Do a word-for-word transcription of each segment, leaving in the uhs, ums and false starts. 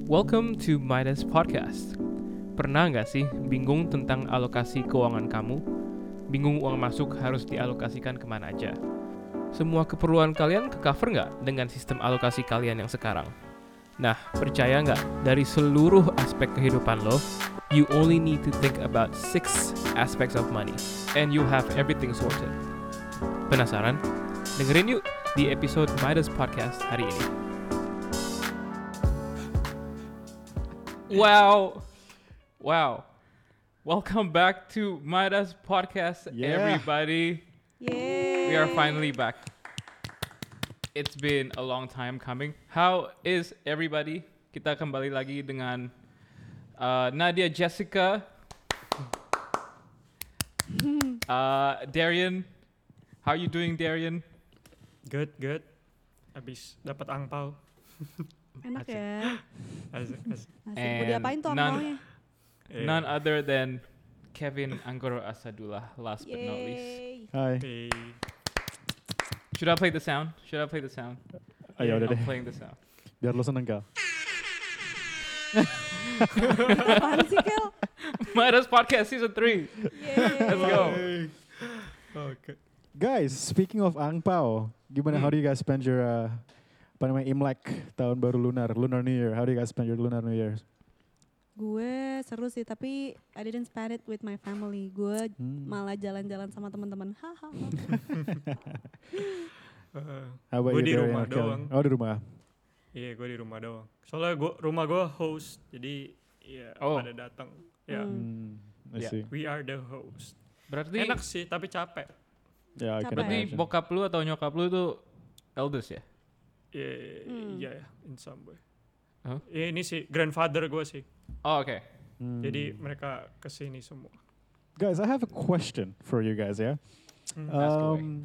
Welcome to Midas Podcast. Pernah nggak sih bingung tentang alokasi keuangan kamu? Bingung uang masuk harus dialokasikan kemana aja? Semua keperluan kalian ke-cover nggak dengan sistem alokasi kalian yang sekarang? Nah, percaya nggak, dari seluruh aspek kehidupan lo, you only need to think about six aspects of money, and you have everything sorted. Penasaran? Dengerin yuk di episode Midas Podcast hari ini. Wow, wow! Welcome back to Midas Podcast, Yeah. everybody. Yay! We are finally back. It's been a long time coming. How is everybody? Kita kembali lagi dengan uh, Nadia Jessica, uh, Darian. How are you doing, Darian? Good, good. Abis dapat angpau. Enak ya. Asik, asik. Asik. Mau And diapain tuh none- angpaunya? Eh, None other than Kevin Anggoro Asadullah, last but not least. Yay! Hai. eh, Should I play the sound? Should I play the sound? Ayo udah I'm deh. playing the sound. Biar lo seneng Kal. Apaan sih, Kel? Midas Podcast Season three. Yay! Let's go. Oke. Guys, speaking of angpao, gimana? Hmm. How do you guys spend your uh, apa namanya Imlek, tahun baru lunar, Lunar New Year? How do you guys spend your Lunar New Year? Gue seru sih, tapi I didn't spend it with my family. Gue Hmm. malah jalan-jalan sama teman-teman. Hahaha. Eh, How about Gue you, di Darian rumah or Kelly? doang. Oh di rumah. Iya, gue di rumah doang. Soalnya gua, rumah gue host, jadi ya Oh. pada datang. Ya, Hmm. Hmm, I Yeah. see. we are the host. Berarti Enak sih, tapi capek. Yeah, I can Capek. berarti imagine. bokap lu atau nyokap lu tuh elders ya? Iya, Hmm. iya, in some way. Huh? Ya, ini sih grandfather gue sih. Oh, oke. Hmm. Jadi mereka kesini semua. Guys, I have a question for you guys ya. Hmm. Ask away. Um,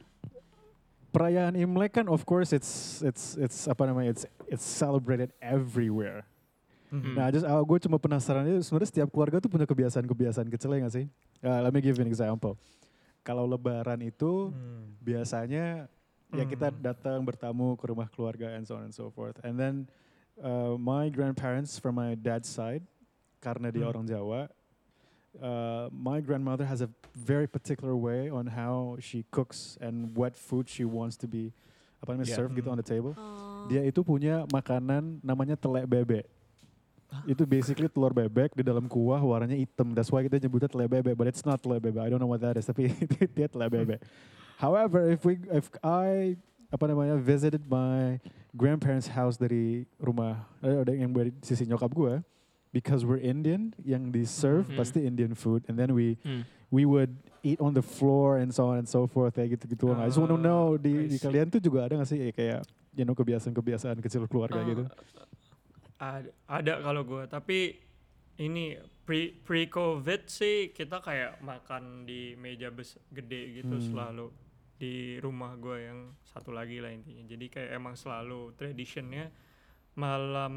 perayaan Imlek kan, of course, it's it's it's apa namanya? It's it's celebrated everywhere. Mhm. Nah, just uh, gue cuma penasaran aja, sebenarnya setiap keluarga tuh punya kebiasaan-kebiasaan kecilnya nggak sih? Uh, let me give you an example. Kalau Lebaran itu Hmm. biasanya ya kita Hmm. datang bertamu ke rumah keluarga and so on and so forth. And then uh, my grandparents from my dad's side, karena dia Hmm. orang Jawa, uh, my grandmother has a very particular way on how she cooks and what food she wants to be apa namanya Yeah. serve gitu Hmm. on the table. Oh. Dia itu punya makanan namanya telek bebek. Itu basically telur bebek di dalam kuah warnanya hitam. That's why kita nyebutnya telek bebek, but it's not telek bebek. I don't know what that is, tapi dia telek bebek. However, if we if I apa namanya visited my grandparents' house dari rumah eh, yang dari sisi nyokap gue, because we're Indian, yang di serve Mhm. pasti Indian food, and then we Hmm. we would eat on the floor and so on and so forth kayak gitu-gitu. I just want to know Ah, di, I di see. kalian tuh juga ada nggak sih eh, kayak you know kebiasaan-kebiasaan kecil keluarga Eh, gitu? Ada, ada kalau gue, tapi ini pre pre covid sih kita kayak makan di meja bes gede gitu Hmm. selalu di rumah gue yang satu lagi lah intinya. Jadi kayak emang selalu traditionnya malam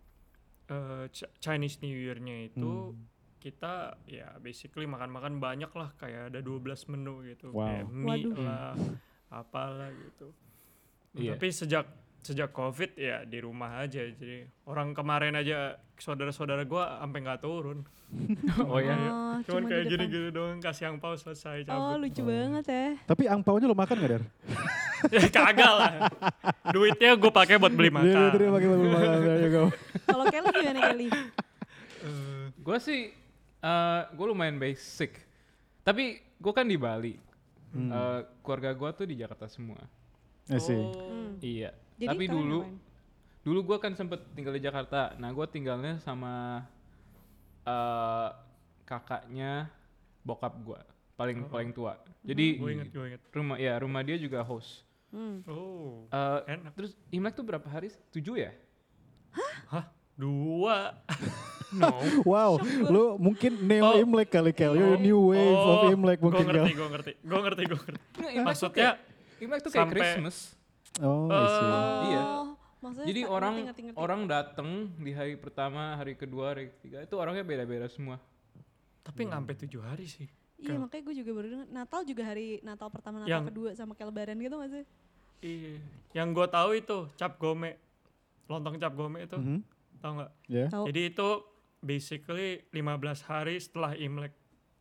eh, Ch- Chinese New Year-nya itu Hmm. kita ya basically makan-makan banyak lah, kayak ada dua belas menu gitu, Wow. kayak mie Waduh. lah apalah gitu. Iya. Tapi sejak sejak covid ya di rumah aja, jadi orang kemarin aja saudara-saudara gua sampai nggak turun. Oh ya. Oh, Cuman cuma di kayak depan. gini-gini doang, kasih angpau selesai Oh, cabut. lucu banget ya. Tapi angpaunya lo makan nggak Der? Ya kagak lah, duitnya gue pakai buat beli makan. Dia terima pakai beli makan. There you go. Kalau Kelly gimana, Kelly? Eh, Gue sih, uh, gue lumayan basic. Tapi gue kan di Bali. Hmm. Uh, keluarga gue tuh di Jakarta semua. I see. oh, Hmm. Iya. Jadi Tapi kalian dulu, ngapain? dulu gue kan sempet tinggal di Jakarta. Nah, gue tinggalnya sama uh, kakaknya bokap gue, paling Oh. paling tua. Jadi gue inget gue inget. rumah ya rumah dia juga host. Hmm. Oh, Uh, enak. terus Imlek tuh berapa hari? Tujuh ya? Dua. No. Wow, lo mungkin neo Oh. Imlek kali Kel. You're a new wave of Imlek Gue mungkin Kel. ngerti, gue ngerti, gue ngerti, gue ngerti. Nggak, Imlek tuh Maksudnya kayak, Imlek tuh kayak sampai- Christmas. Oh, I see. Oh, Iya. maksudnya Jadi sa- orang ngerti, ngerti, ngerti. orang datang di hari pertama, hari kedua, hari ketiga itu orangnya beda-beda semua. Tapi nggak sampai tujuh hari sih. Iya, Kel. makanya gue juga baru dengar. Natal juga hari Natal pertama, Natal Yang- kedua sama kayak Lebaran gitu nggak sih? Iya. Yang gue tahu itu cap gome, lontong cap gome itu Mhm. Tahu nggak? Yeah. Tahu. Jadi itu basically lima belas hari setelah Imlek.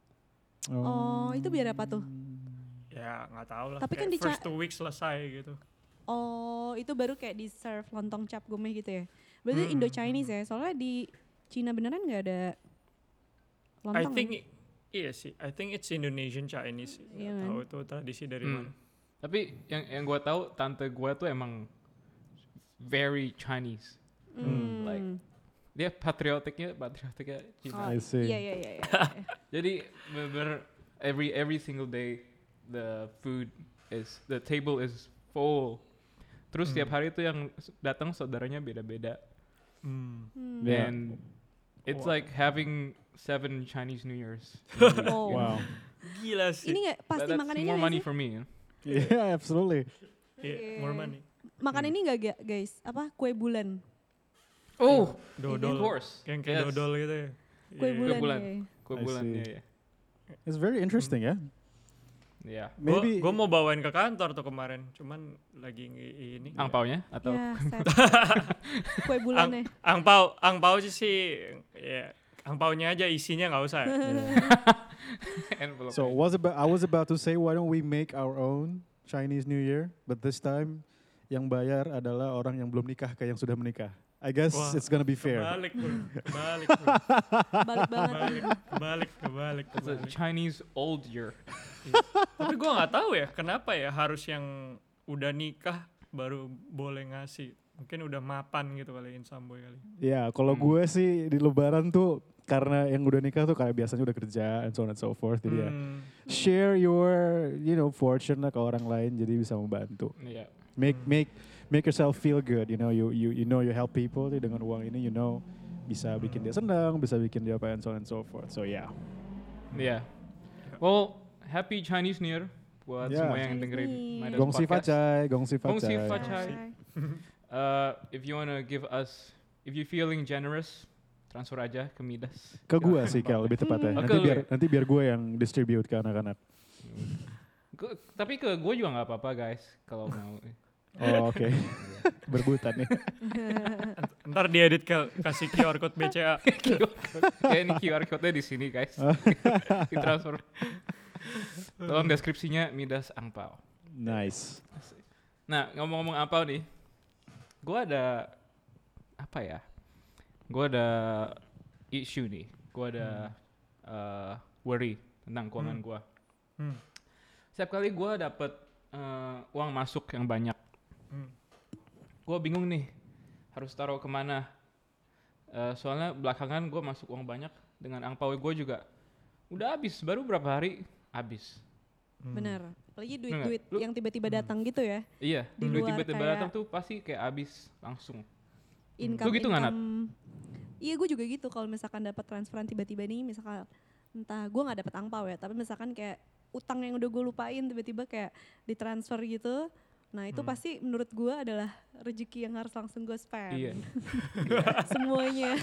Oh, itu biar apa tuh? Ya nggak tahu lah. Tapi kan kayak di Ca- first two weeks selesai gitu. Oh, itu baru kayak di serve lontong cap gomeh gitu ya. Berarti Hmm, Indo Chinese ya. Soalnya di Cina beneran nggak ada lontong. I ya? think i- iya sih. I think it's Indonesian Chinese. Nggak Iya kan? tahu itu tradisi dari Hmm. mana. Tapi yang yang gue tahu tante gue tuh emang very Chinese. Hmm. like, Dia patriotiknya patriotiknya Cina. Oh, I see. Iya iya iya. iya. Jadi bener every every single day the food is the table is full. Terus Hmm. setiap hari tuh yang s- datang saudaranya beda-beda. Hmm. Hmm. Yeah. And it's Wow. like having seven Chinese New Years. Oh. Wow. Gila sih. Ini nggak That- pasti that's makan ini more nggak money sih? for me. Yeah, absolutely. Yeah, more money. Makan Hmm. ini nggak ga- guys? Apa kue bulan? Oh, Dodol. of course. Kayak kayak Yes. dodol gitu ya. Kue Iya. bulan. bulan. ya. Kue I bulan see. ya ya. It's very interesting ya. Yeah. Maybe Gue mau bawain ke kantor tuh kemarin, cuman lagi ngi- ini. Angpaunya atau Ya, sad. Kue bulannya. Angpau, angpau sih sih, ya angpaunya aja isinya nggak usah. Ya. envelope? so was about I was about to say why don't we make our own Chinese New Year, but this time yang bayar adalah orang yang belum nikah ke yang sudah menikah. I guess Wah, it's gonna be fair. Kebalik bro, kebalik bro, Balik banget. kebalik, kebalik, kebalik, It's a kebalik. Chinese old year. Tapi gue nggak tahu ya kenapa ya harus yang udah nikah baru boleh ngasih. Mungkin udah mapan gitu kali Insamboy kali. Ya, kalau Hmm. gue sih di Lebaran tuh karena yang udah nikah tuh kayak biasanya udah kerja and so on and so forth. Jadi ya Hmm, share your you know fortune lah ke orang lain jadi bisa membantu. Iya. Make Hmm. make make yourself feel good. You know you you you know you help people jadi dengan uang ini you know bisa bikin dia senang, bisa bikin dia apa and so on and so forth. So yeah. Iya. Well, happy Chinese New Year buat Yeah. semua yang Chinese dengerin New Year. Midas Gongsi Podcast. facai, gongsi Gongsi facai. facai. Uh, if you wanna give us, if you feeling generous, transfer aja ke Midas. Ke gue sih Kel lebih tepatnya. Hmm. Nanti Oke, lu biar ya? nanti biar gue yang distribute ke anak-anak. Gu- tapi ke gue juga nggak apa-apa guys, kalau mau. Oh oke. Berbutan nih. Ntar diedit ke kasih Q R code B C A. Kayak ini Q R code-nya di sini guys. Ditransfer. Tolong deskripsinya Midas Angpau. Nice. Nah, ngomong-ngomong Angpau nih, gue ada apa ya? Gue ada issue nih. Gue ada uh, worry tentang keuangan Hmm. gue. Hmm. Setiap kali gue dapet uh, uang masuk yang banyak, Hmm. gue bingung nih harus taruh kemana. Uh, soalnya belakangan gue masuk uang banyak dengan angpau gue juga udah habis, baru berapa hari habis. Hmm. Bener. Apalagi Bener duit-duit nggak? Lu- yang tiba-tiba datang gitu ya. Iya, Di duit luar tiba-tiba kayak- datang tuh pasti kayak habis langsung. Income, Lu gitu nggak, Nat? income- Iya gue juga gitu kalau misalkan dapat transferan tiba-tiba nih misalkan entah gue nggak dapat angpau ya tapi misalkan kayak utang yang udah gue lupain tiba-tiba kayak ditransfer gitu nah itu Hmm. pasti menurut gue adalah rezeki yang harus langsung gue spend Iya. semuanya.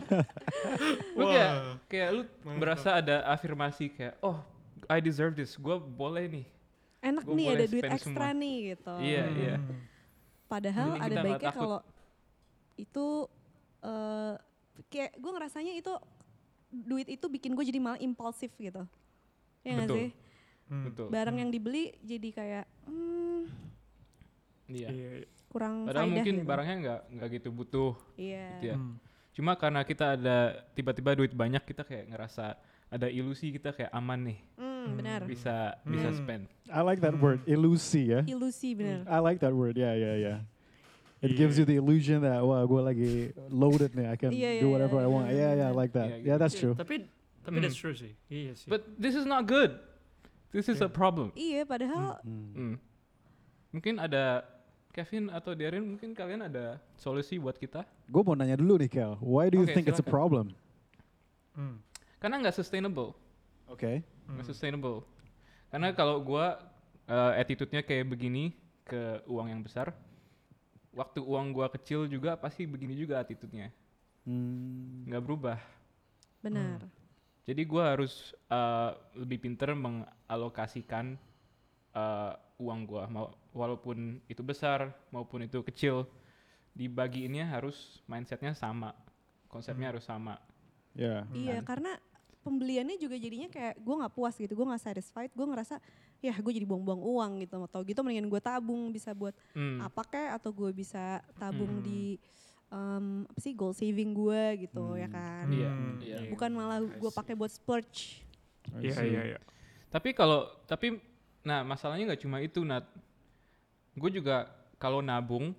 Lu Wah. kayak kayak lu Mantap. berasa ada afirmasi kayak oh I deserve this, gue boleh nih. Enak Gua nih boleh ada duit spend ekstra semua. nih gitu. Iya, Hmm. iya. Padahal Mending ada kita nggak baiknya takut. kalau itu eh kayak gue ngerasanya itu duit itu bikin gue jadi malah impulsif gitu. Ya nggak Betul. sih? Hmm. Betul. Barang yang dibeli jadi kayak hmm, Iya. Iya. kurang Padahal faedah mungkin gitu. barangnya nggak nggak gitu butuh. Iya. Gitu ya. Hmm. Cuma karena kita ada tiba-tiba duit banyak, kita kayak ngerasa ada ilusi kita kayak aman nih, Hmm, benar. bisa Hmm. bisa spend. I like that Hmm. word, ilusi ya. Ilusi benar. I like that word, yeah, yeah, yeah. It Iya. gives you the illusion that wah gue lagi loaded nih, I can Iya, iya, do whatever iya, I want. iya, Yeah, yeah, I benar. like that. Iya, Yeah, gitu. that's true. Tapi tapi Hmm. that's true sih. Iya sih. But this is not good. This is a Yeah. problem. Iya, padahal Hmm. Hmm. Mungkin ada Kevin atau Darren, mungkin kalian ada solusi buat kita? Gue mau nanya dulu nih, Kel. Why do you Oke, think it's a silakan. problem? Hmm. Karena nggak sustainable, Oke. nggak Hmm. sustainable. Karena kalau gua uh, attitude-nya kayak begini ke uang yang besar, waktu uang gua kecil juga pasti begini juga attitude-nya, Hmm. nggak berubah. benar. Jadi gua harus uh, lebih pinter mengalokasikan uh, uang gua, mau walaupun itu besar maupun itu kecil. dibagiinnya harus mindsetnya sama, konsepnya Hmm. harus sama. Ya. Iya, kan? karena pembeliannya juga jadinya kayak gue nggak puas gitu, gue nggak satisfied, gue ngerasa ya gue jadi buang-buang uang gitu, atau gitu mendingan gue tabung bisa buat Hmm. apa kek, atau gue bisa tabung Hmm. di um, apa sih goal saving gue gitu ya Hmm. kan, Iya, Hmm, iya. bukan malah I gue see. pakai buat splurge. I Iya see. iya iya. Tapi kalau tapi nah masalahnya nggak cuma itu, Nat. Gue juga kalau nabung,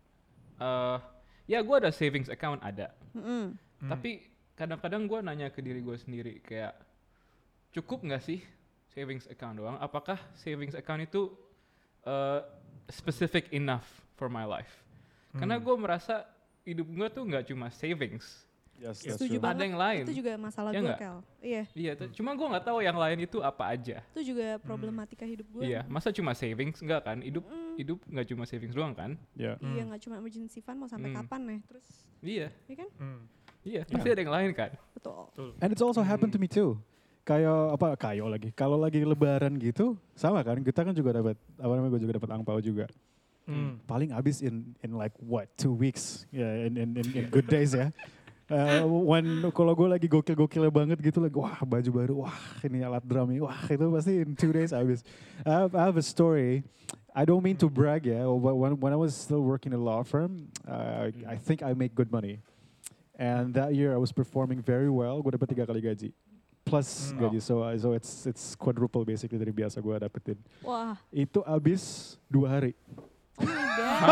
eh ya gue ada savings account ada. Mm-mm. Hmm. Tapi kadang-kadang gue nanya ke diri gue sendiri kayak cukup nggak sih savings account doang? Apakah savings account itu uh, specific enough for my life? Karena Hmm. gue merasa hidup gue tuh nggak cuma savings, Yes, Yes. that's Setuju true. banget. ada yang lain. Itu juga masalah Ya gue nggak? Kel. Iya, Iya, tuh- cuma gue nggak tahu yang lain itu apa aja. itu juga problematika hidup gue. Iya, masa cuma savings enggak kan? Hidup Mm-mm. hidup nggak cuma savings doang kan? Yeah. Iya, Hmm. nggak cuma emergency fund mau sampai Hmm. kapan nih, terus Iya, ya kan, Hmm. iya, pasti ada yang lain kan? betul. Betul. And it's also happened to me too. Kayak apa kayo lagi. Kalau lagi lebaran gitu sama kan kita kan juga dapat apa namanya gue juga dapat angpau juga. Hmm. Paling habis in in like what two weeks ya yeah, in, in in in good days ya. Uh, when kalau gue lagi gokil-gokilnya banget gitu lagi wah baju baru wah ini alat drum ini wah itu pasti in two days habis. I have, I have a story. I don't mean to brag ya. But when when I was still working in a law firm, uh, I think I make good money. And that year I was performing very well. Gue dapat tiga kali gaji plus Hmm. gaji. So uh, so it's it's quadruple basically dari biasa gue dapetin. Wah, Itu habis dua hari. oh my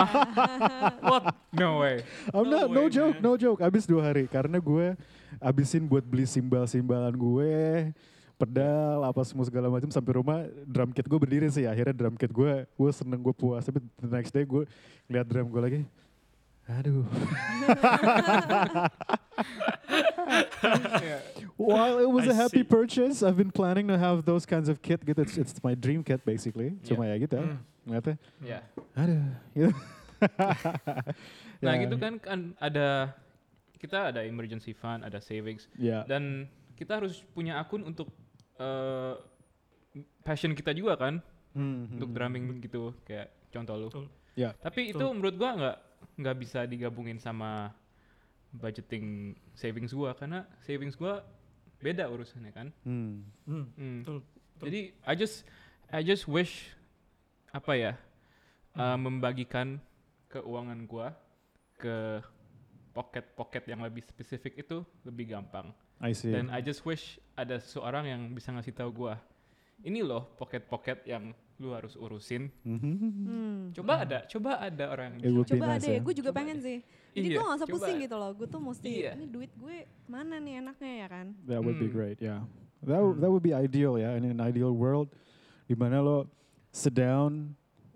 god. What? No way. I'm No not, no way, joke, man. no joke. Habis dua hari karena gue habisin buat beli simbal-simbalan gue, pedal, apa semua segala macam sampai rumah drum kit gue berdiri sih. Akhirnya drum kit gue, gue seneng gue puas. Tapi the next day gue lihat drum gue lagi, aduh. While it was I a happy see. purchase, I've been planning to have those kinds of kit gitu. It's, it's my dream kit basically. Cuma ya gitu. Hmm. Ngeliatnya, Ya. aduh. Gitu. Nah, Ya, gitu kan kan ada kita ada emergency fund, ada savings Ya. dan kita harus punya akun untuk eh, passion kita juga kan, Hmm, untuk hmm. drumming gitu kayak contoh lu. Betul. Ya. Tapi itu Betul. menurut gua nggak nggak bisa digabungin sama budgeting savings gua karena savings gua beda urusannya kan. Hmm. Hmm. Hmm. Betul. Betul. Jadi I just I just wish apa ya uh, membagikan keuangan gua ke pocket-pocket yang lebih spesifik itu lebih gampang. I see. Dan I just wish ada seorang yang bisa ngasih tahu gua, ini loh pocket-pocket yang lu harus urusin. Mhm. Hmm. Coba ada, coba ada orang It yang would bisa. be Coba nice ada ya, ya. gue juga Coba pengen deh. sih. Jadi Iya, gue gak usah coba. pusing gitu loh, gue tuh mesti, Iya. ini duit gue mana nih enaknya ya kan. That would be Hmm. great, yeah. That w- that would be ideal, ya. In an ideal world, di mana lo sit down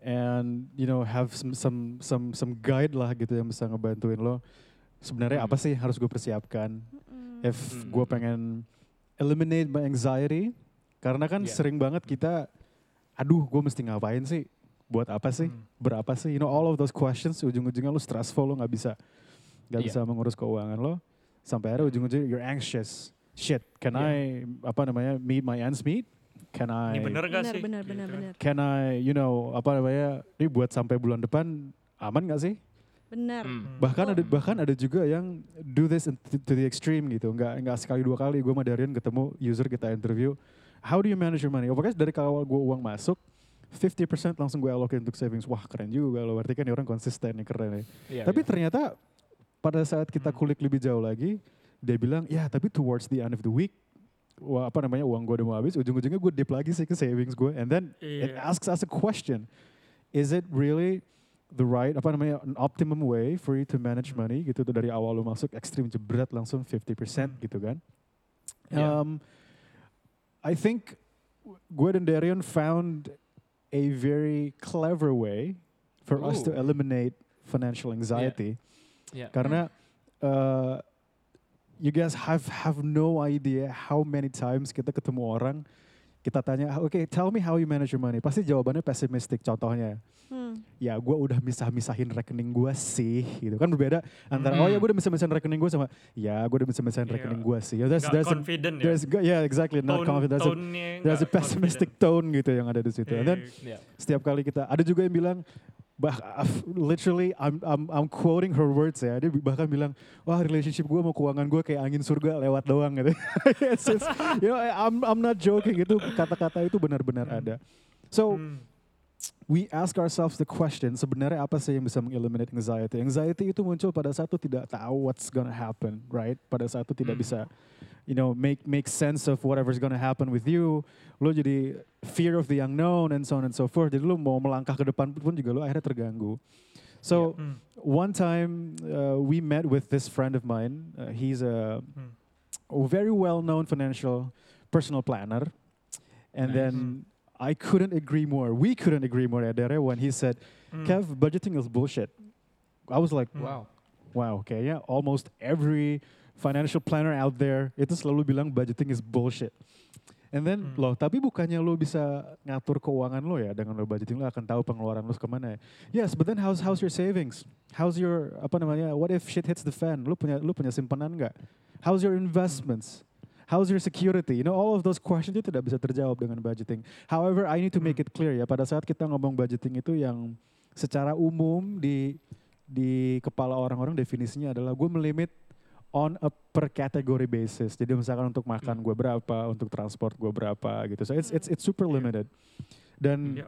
and you know have some some some some guide lah gitu yang bisa ngebantuin lo. Sebenarnya Hmm. apa sih yang harus gue persiapkan? Mm-mm. If Hmm. gue pengen eliminate my anxiety, karena kan Yeah. sering banget kita, aduh, gue mesti ngapain sih? Buat apa sih? Hmm. Berapa sih? You know all of those questions. Ujung-ujungnya lo stressful, lo nggak bisa nggak Iya. bisa mengurus keuangan lo. Sampai akhirnya ujung-ujungnya you're anxious. Shit, can Iya. I apa namanya meet my ends meet? Can I? Ini bener gak Benar, sih? benar, Gitu benar, kan. benar. Can I? You know apa namanya? Ini buat sampai bulan depan aman nggak sih? Benar. Hmm. Hmm. Bahkan ada Hmm. bahkan ada juga yang do this in- to, to the extreme gitu. Nggak nggak sekali dua kali. Gue sama Darian ketemu user kita interview. How do you manage your money? Oh, pokoknya dari awal gue uang masuk, fifty percent langsung gue allocate untuk savings. Wah keren juga loh. Berarti kan ini orang konsisten nih, keren nih. Iya, Tapi iya. ternyata pada saat kita Hmm. kulik lebih jauh lagi, dia bilang, ya tapi towards the end of the week, wah, apa namanya uang gue udah mau habis, ujung-ujungnya gue dip lagi sih ke savings gue. And then it Iya. asks us a question. Is it really the right, apa namanya, an optimum way for you to manage Hmm. money gitu tuh dari awal lu masuk ekstrim jebret langsung fifty percent Hmm. gitu kan. Iya. Um, I think gue dan Darian found a very clever way for us to Ooh. eliminate financial anxiety. Iya. Karena uh, you guys have have no idea how many times kita ketemu orang, kita tanya, oke, tell me how you manage your money. Pasti jawabannya pesimistik. Contohnya, Hmm. ya gue udah misah-misahin rekening gue sih, gitu kan berbeda antara Hmm. oh ya gue udah misah-misahin rekening gue sama ya gue udah misah-misahin Iya. rekening gue sih. Ya, there's, Nggak there's a, confident ya. there's go- yeah exactly not Tone- confident. There's a, tone-nya there's a nggak pessimistic confident. tone gitu yang ada di situ. And then Iya. Iya. setiap kali kita ada juga yang bilang bah, literally I'm I'm I'm quoting her words ya. Dia bahkan bilang, wah relationship gue sama keuangan gue kayak angin surga lewat doang gitu. it's, it's, you know, I'm I'm not joking, itu kata-kata itu benar-benar Hmm. ada. So Hmm. we ask ourselves the question, sebenarnya apa sih yang bisa mengeliminate anxiety? Anxiety itu muncul pada saat tu tidak tahu what's gonna happen, right? Pada saat tu tidak Hmm. bisa, you know, make make sense of whatever's gonna happen with you. Lo jadi fear of the unknown and so on and so forth. Jadi lo mau melangkah ke depan pun juga lo akhirnya terganggu. So Hmm. one time uh, we met with this friend of mine. Uh, he's a, Hmm. a very well-known financial personal planner, and Nice. then I couldn't agree more. We couldn't agree more, Adere, when he said, Hmm. Kev, budgeting is bullshit. I was like, Hmm. Wow. wow, kayaknya almost every financial planner out there itu selalu bilang budgeting is bullshit. And then, Hmm. loh, tapi bukannya lo bisa ngatur keuangan lo ya dengan lo budgeting, lo akan tahu pengeluaran lo kemana ya. Yes, but then how's how's your savings? How's your, apa namanya, what if shit hits the fan? Lo punya lo punya simpanan nggak? How's your investments? How's your security? You know, all of those questions itu tidak bisa terjawab dengan budgeting. However, I need to make Hmm. it clear ya, pada saat kita ngomong budgeting itu yang secara umum di di kepala orang-orang definisinya adalah gue melimit on a per category basis. Jadi misalkan untuk makan gue berapa, untuk transport gue berapa gitu. So it's it's it's super Yeah. limited. Dan Yeah.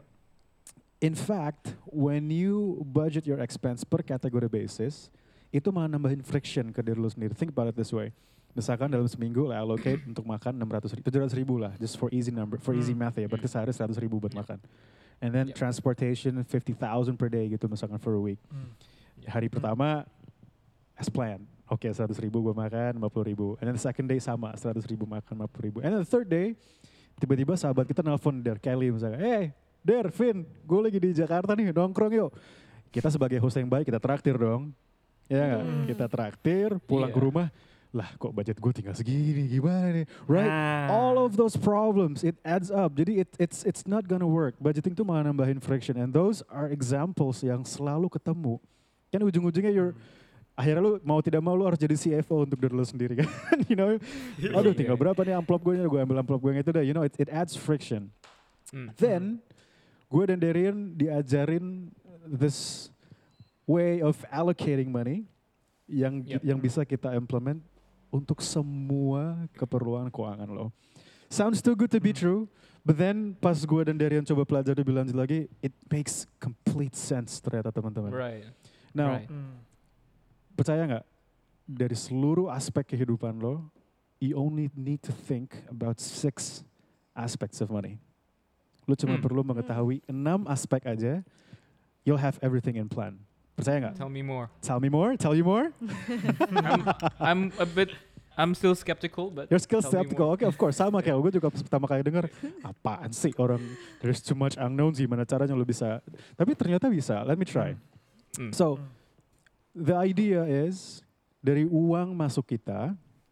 in fact, when you budget your expense per category basis, itu malah nambahin friction ke diri lu sendiri. Think about it this way. Misalkan dalam seminggu lah allocate untuk makan enam ratus ribu, tujuh ratus ribu lah, just for easy number, for easy Hmm. math ya. Berarti sehari seratus ribu buat makan. And then Yep. transportation fifty thousand per day gitu misalkan for a week. Hmm. Hari pertama as planned. Oke, seratus ribu gue makan, lima puluh ribu. And then the second day sama, seratus ribu makan, lima puluh ribu. And then the third day, tiba-tiba sahabat kita nelfon Der, Kelly misalnya. Hey, Der, Vin, gue lagi di Jakarta nih, nongkrong yuk. Kita sebagai host yang baik, kita traktir dong. Ya nggak? Hmm. Kita traktir, pulang ke Iya. rumah. Lah kok budget gue tinggal segini, gimana nih? Right? Nah. All of those problems, it adds up. Jadi it, it's it's not gonna work. Budgeting tuh malah nambahin friction. And those are examples yang selalu ketemu. Kan ujung-ujungnya you're akhirnya lu mau tidak mau lu harus jadi C F O untuk diri lu sendiri kan. You know, aduh tinggal berapa nih amplop gue, gue ambil amplop gue yang itu dah. You know, it, it adds friction. Hmm. Then, gue dan Darian diajarin this way of allocating money yang Yep. yang bisa kita implement untuk semua keperluan keuangan lo. Sounds too good to be Hmm. true, but then pas gue dan Darian coba pelajari lebih lanjut lagi, it makes complete sense ternyata teman-teman. Right. Now, Right. Hmm. percaya nggak dari seluruh aspek kehidupan lo, you only need to think about six aspects of money. Lo cuma Hmm. perlu mengetahui enam aspek aja, you'll have everything in plan. Percaya nggak? Tell me more. Tell me more, tell you more. I'm, I'm a bit, I'm still skeptical, but You're still tell me skeptical. more. Oke, of course. Sama kayak gue juga pas pertama kali denger, apaan sih orang, there's too much unknowns, gimana caranya lo bisa. Tapi ternyata bisa, let me try. Hmm. So, Hmm. the idea is, dari uang masuk kita,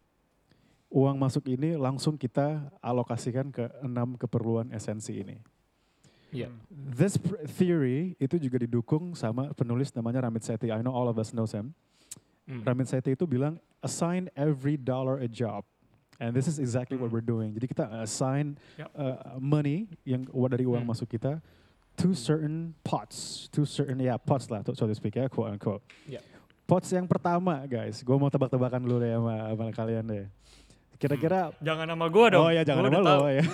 uang masuk ini langsung kita alokasikan ke enam keperluan esensi ini. Yeah. This pr- theory itu juga didukung sama penulis namanya Ramit Sethi. I know all of us know him. Hmm. Ramit Sethi itu bilang, assign every dollar a job. And this is exactly what Hmm. we're doing. Jadi kita assign Yep. uh, money yang wa- dari uang Hmm. masuk kita to certain pots, to certain yeah pots lah, so to speak ya, quote unquote. Yep. Pots yang pertama, guys, gue mau tebak-tebakan dulu deh sama, sama kalian deh. Kira-kira, Jangan nama gua dong. oh ya jangan Gua nama udah lo tahu. ya.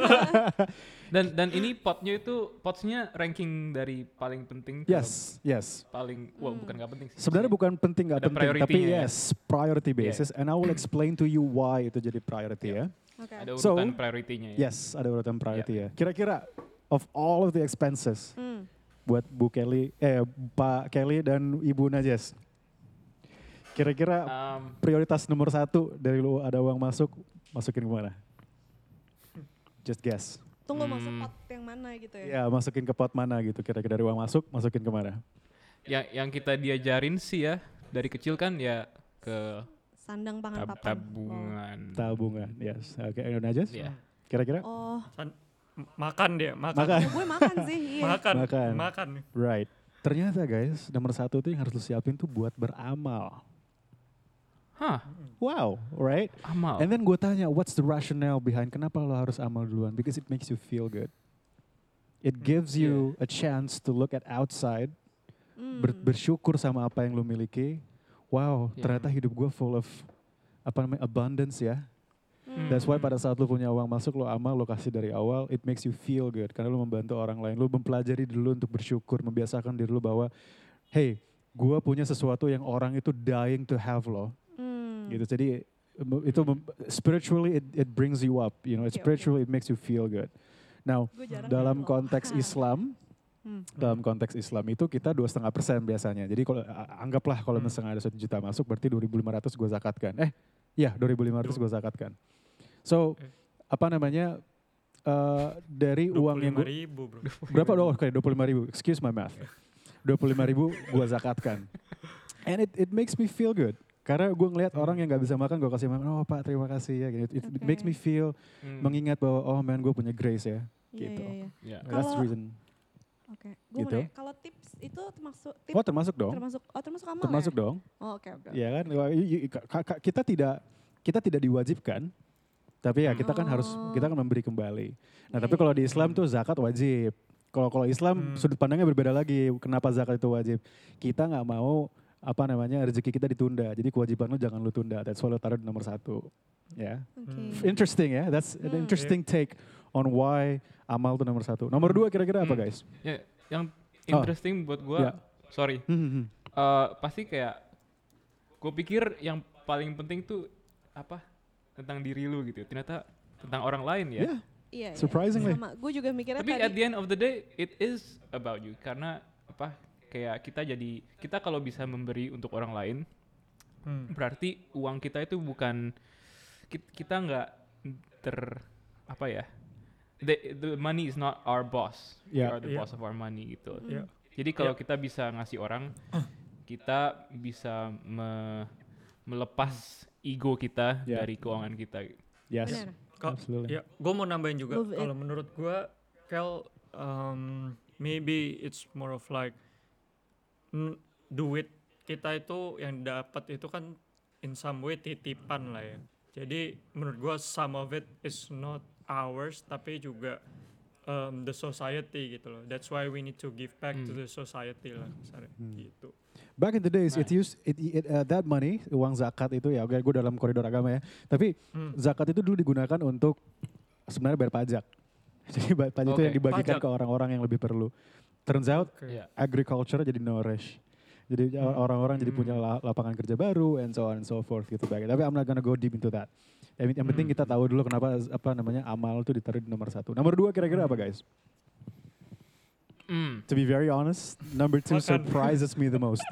Dan dan ini potnya itu potsnya ranking dari paling penting ke Yes, yes. paling, well Hmm. bukan nggak penting sih. Sebenarnya bukan penting nggak Ada penting, tapi priority-nya ya. yes, priority basis. And I will explain to you why itu jadi priority ya. Oke. Ada So, urutan priority-nya ya. Yes, ada urutan priority ya. Kira-kira of all of the expenses Hmm. buat Bu Kelly, eh Pak Kelly dan Ibu Najes, kira-kira Um, prioritas nomor satu dari lu ada uang masuk, masukin kemana? Just guess. Tunggu masuk Hmm. pot yang mana gitu ya. Ya, masukin ke pot mana gitu. Kira-kira dari uang masuk, masukin kemana? yang yang kita diajarin sih ya dari kecil kan ya ke Sandang pangan tab- papan. tabungan. Tabungan, yes. Oke, okay, Najes, Iya. kira-kira? Oh, M- Makan dia, makan. Makan. ya gue makan sih. Iya. Makan. Makan. Makan. Right. Ternyata guys, nomor satu tuh yang harus lu siapin tuh buat beramal. Hah, Wow, right? amal. And then gue tanya, what's the rationale behind kenapa lo harus amal duluan? Because it makes you feel good. It Hmm, gives you a chance to look at outside ber- bersyukur sama apa yang lu miliki. Wow, Yeah. ternyata hidup gue full of apa namanya abundance ya. Hmm. That's why pada saat lu punya uang masuk, lu amal, lu kasih dari awal, it makes you feel good. Karena lu membantu orang lain, lu mempelajari dulu untuk bersyukur, membiasakan diri lu bahwa, hey, gue punya sesuatu yang orang itu dying to have loh. Hmm. Gitu. Jadi em- itu mem- spiritually it, it brings you up, you know, Oke, oke. spiritually it makes you feel good. Now, Gue jarang dalam gitu loh. konteks Islam, Hmm. dalam konteks Islam itu kita dua setengah persen biasanya. Jadi kalau a- anggaplah kalau Hmm. misalnya ada satu juta masuk, berarti dua ribu lima ratus gue zakatkan. Eh, ya dua ribu lima ratus gue zakatkan. So Oke. apa namanya eh, dari uang yang gue ribu bro. berapa doang? Oke, dua puluh lima ribu. Excuse my math. dua puluh lima ribu gue zakatkan. And it it makes me feel good. Karena gue ngelihat orang yang nggak bisa makan, gue kasih makan. Oh pak, terima kasih ya. Gitu. It, it Oke. makes me feel Hmm. mengingat bahwa oh man, gue punya grace ya. Iya, Gitu. iya, iya. Ya. That's the Kalau- reason. Oke, gue Gitu. mau nanya, kalau tips itu termasuk tips Oh termasuk dong. termasuk oh termasuk amal Termasuk ya? dong. Oh, oke oke. Ya kan, Wah, y- y- ka- ka- kita tidak kita tidak diwajibkan, tapi ya kita kan harus Oh. kita kan memberi kembali. Nah Iya, tapi iya. kalau di Islam tuh zakat wajib. Kalau kalau Islam Hmm. sudut pandangnya berbeda lagi. Kenapa zakat itu wajib? Kita nggak mau apa namanya rezeki kita ditunda. Jadi kewajiban lu jangan lu tunda. That's why lu taruh di nomor satu. Ya, Oke. Hmm. interesting ya. That's an Hmm. interesting take on why amal tuh nomor satu. Nomor dua kira-kira apa Hmm. guys? Ya, yang Oh. interesting buat gue, Ya. sorry, Hmm, hmm, hmm. eh, pasti kayak gue pikir yang paling penting tuh apa tentang diri lu gitu. Ternyata tentang orang lain ya. Yeah. Iya, iya. Surprisingly. Sama, gue juga mikirnya Tapi tadi. at the end of the day, it is about you. Karena apa? Kayak kita jadi kita kalau bisa memberi untuk orang lain, Hmm. berarti uang kita itu bukan ki- kita nggak ter apa ya? The, the money is not our boss. We Yeah. are the Yeah. boss of our money gitu. Mm. Ya. Jadi kalau Yeah. kita bisa ngasih orang, kita bisa me- melepas ego kita Yeah. dari keuangan kita. Yes. Benar. Ka- Absolutely. Ya, gue mau nambahin juga. Move it. Kalau menurut gue, Kel, um, maybe it's more of like mm, duit kita itu yang dapat itu kan in some way titipan lah ya. Jadi menurut gue some of it is not ours, tapi juga um, the society gitu loh. That's why we need to give back to Hmm. the society lah, sorry, Hmm. gitu. Back in the days, it Nah. used it, it, uh, that money, uang zakat itu ya, oke, gue dalam koridor agama ya. Tapi Hmm. zakat itu dulu digunakan untuk sebenarnya bayar pajak. Jadi ba- pajak itu Oke. yang dibagikan Pajak. ke orang-orang yang lebih perlu. Turns out Oke. Ya. agriculture jadi nourish. Jadi Hmm. orang-orang jadi Hmm. punya la- lapangan kerja baru and so on and so forth gitu baik. Tapi I'm not gonna go deep into that. Yang, yang penting Hmm. kita tahu dulu kenapa apa namanya amal itu ditaruh di nomor satu. Nomor dua kira-kira apa guys? Mm. To be very honest, number two Makan. surprises me the most.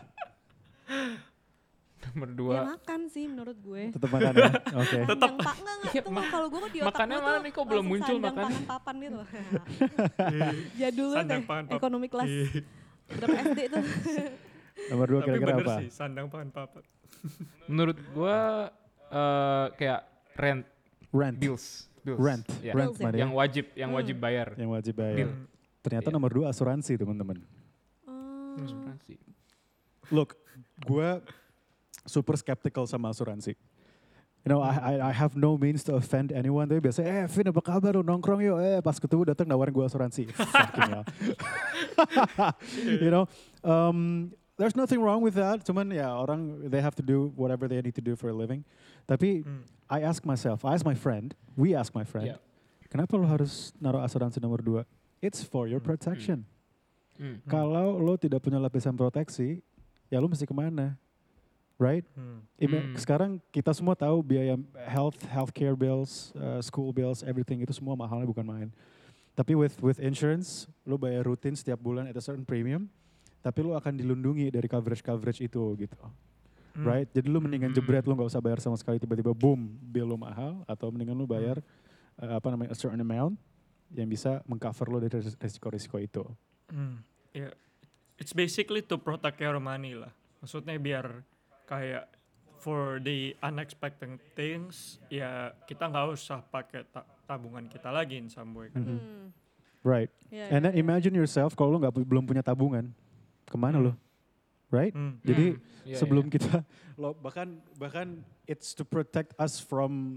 Nomor Ya dua. makan sih menurut gue. Tetap makan ya. Oke. Tetap pak enggak enggak Iya, tuh mak- kalau gue di otak makannya gue mana tuh nih, kok belum langsung muncul sandang makan? pangan papan gitu. Jadul banget Sandang deh, pangan papan. ekonomi kelas Iya. berapa S D itu. Nomor dua Tapi kira-kira bener apa? sih, sandang pangan papan. Menurut gua eh, kayak rent Rent. bills, bills. Rent. Ya. Rent Bills ya? money. Yang wajib, yang Hmm. wajib bayar. Yang wajib bayar. Bill. Hmm. Ternyata Iya. nomor dua asuransi teman-teman. Oh. Asuransi. Look, gue super skeptical sama asuransi. You know, I, I I have no means to offend anyone. Tapi biasanya, eh Vin apa kabar lu nongkrong yuk. Eh pas ketemu datang nawarin gue asuransi. Fucking hell. You know, um, there's nothing wrong with that. Cuman ya orang, they have to do whatever they need to do for a living. Tapi Hmm. I ask myself, I ask my friend, we ask my friend, Yeah. kenapa lo harus naruh asuransi nomor dua? It's for your Hmm. protection. Hmm. Kalau lo tidak punya lapisan proteksi, ya lo mesti kemana? Right? Hmm. Ima- Hmm. Sekarang kita semua tahu biaya health, healthcare bills, uh, school bills, everything itu semua mahalnya bukan main. Tapi with with insurance, lo bayar rutin setiap bulan at a certain premium, tapi lo akan dilindungi dari coverage-coverage itu gitu. Hmm. Right? Jadi lo mendingan Hmm. jebret, lo nggak usah bayar sama sekali, tiba-tiba boom, bill lo mahal, atau mendingan lo bayar uh, apa namanya a certain amount yang bisa mengcover lo dari res- resiko-resiko itu. Hmm. Ya, it's basically to protect your money lah. Maksudnya biar kayak for the unexpected things, ya kita nggak usah pakai ta- tabungan kita lagi in some way kan. Mhm. Hmm. Right. Ya, And ya, then ya. imagine yourself kalau lo nggak pu- belum punya tabungan, kemana Hmm. lo? Right? Hmm. Jadi Iya, sebelum iya. kita lo bahkan bahkan it's to protect us from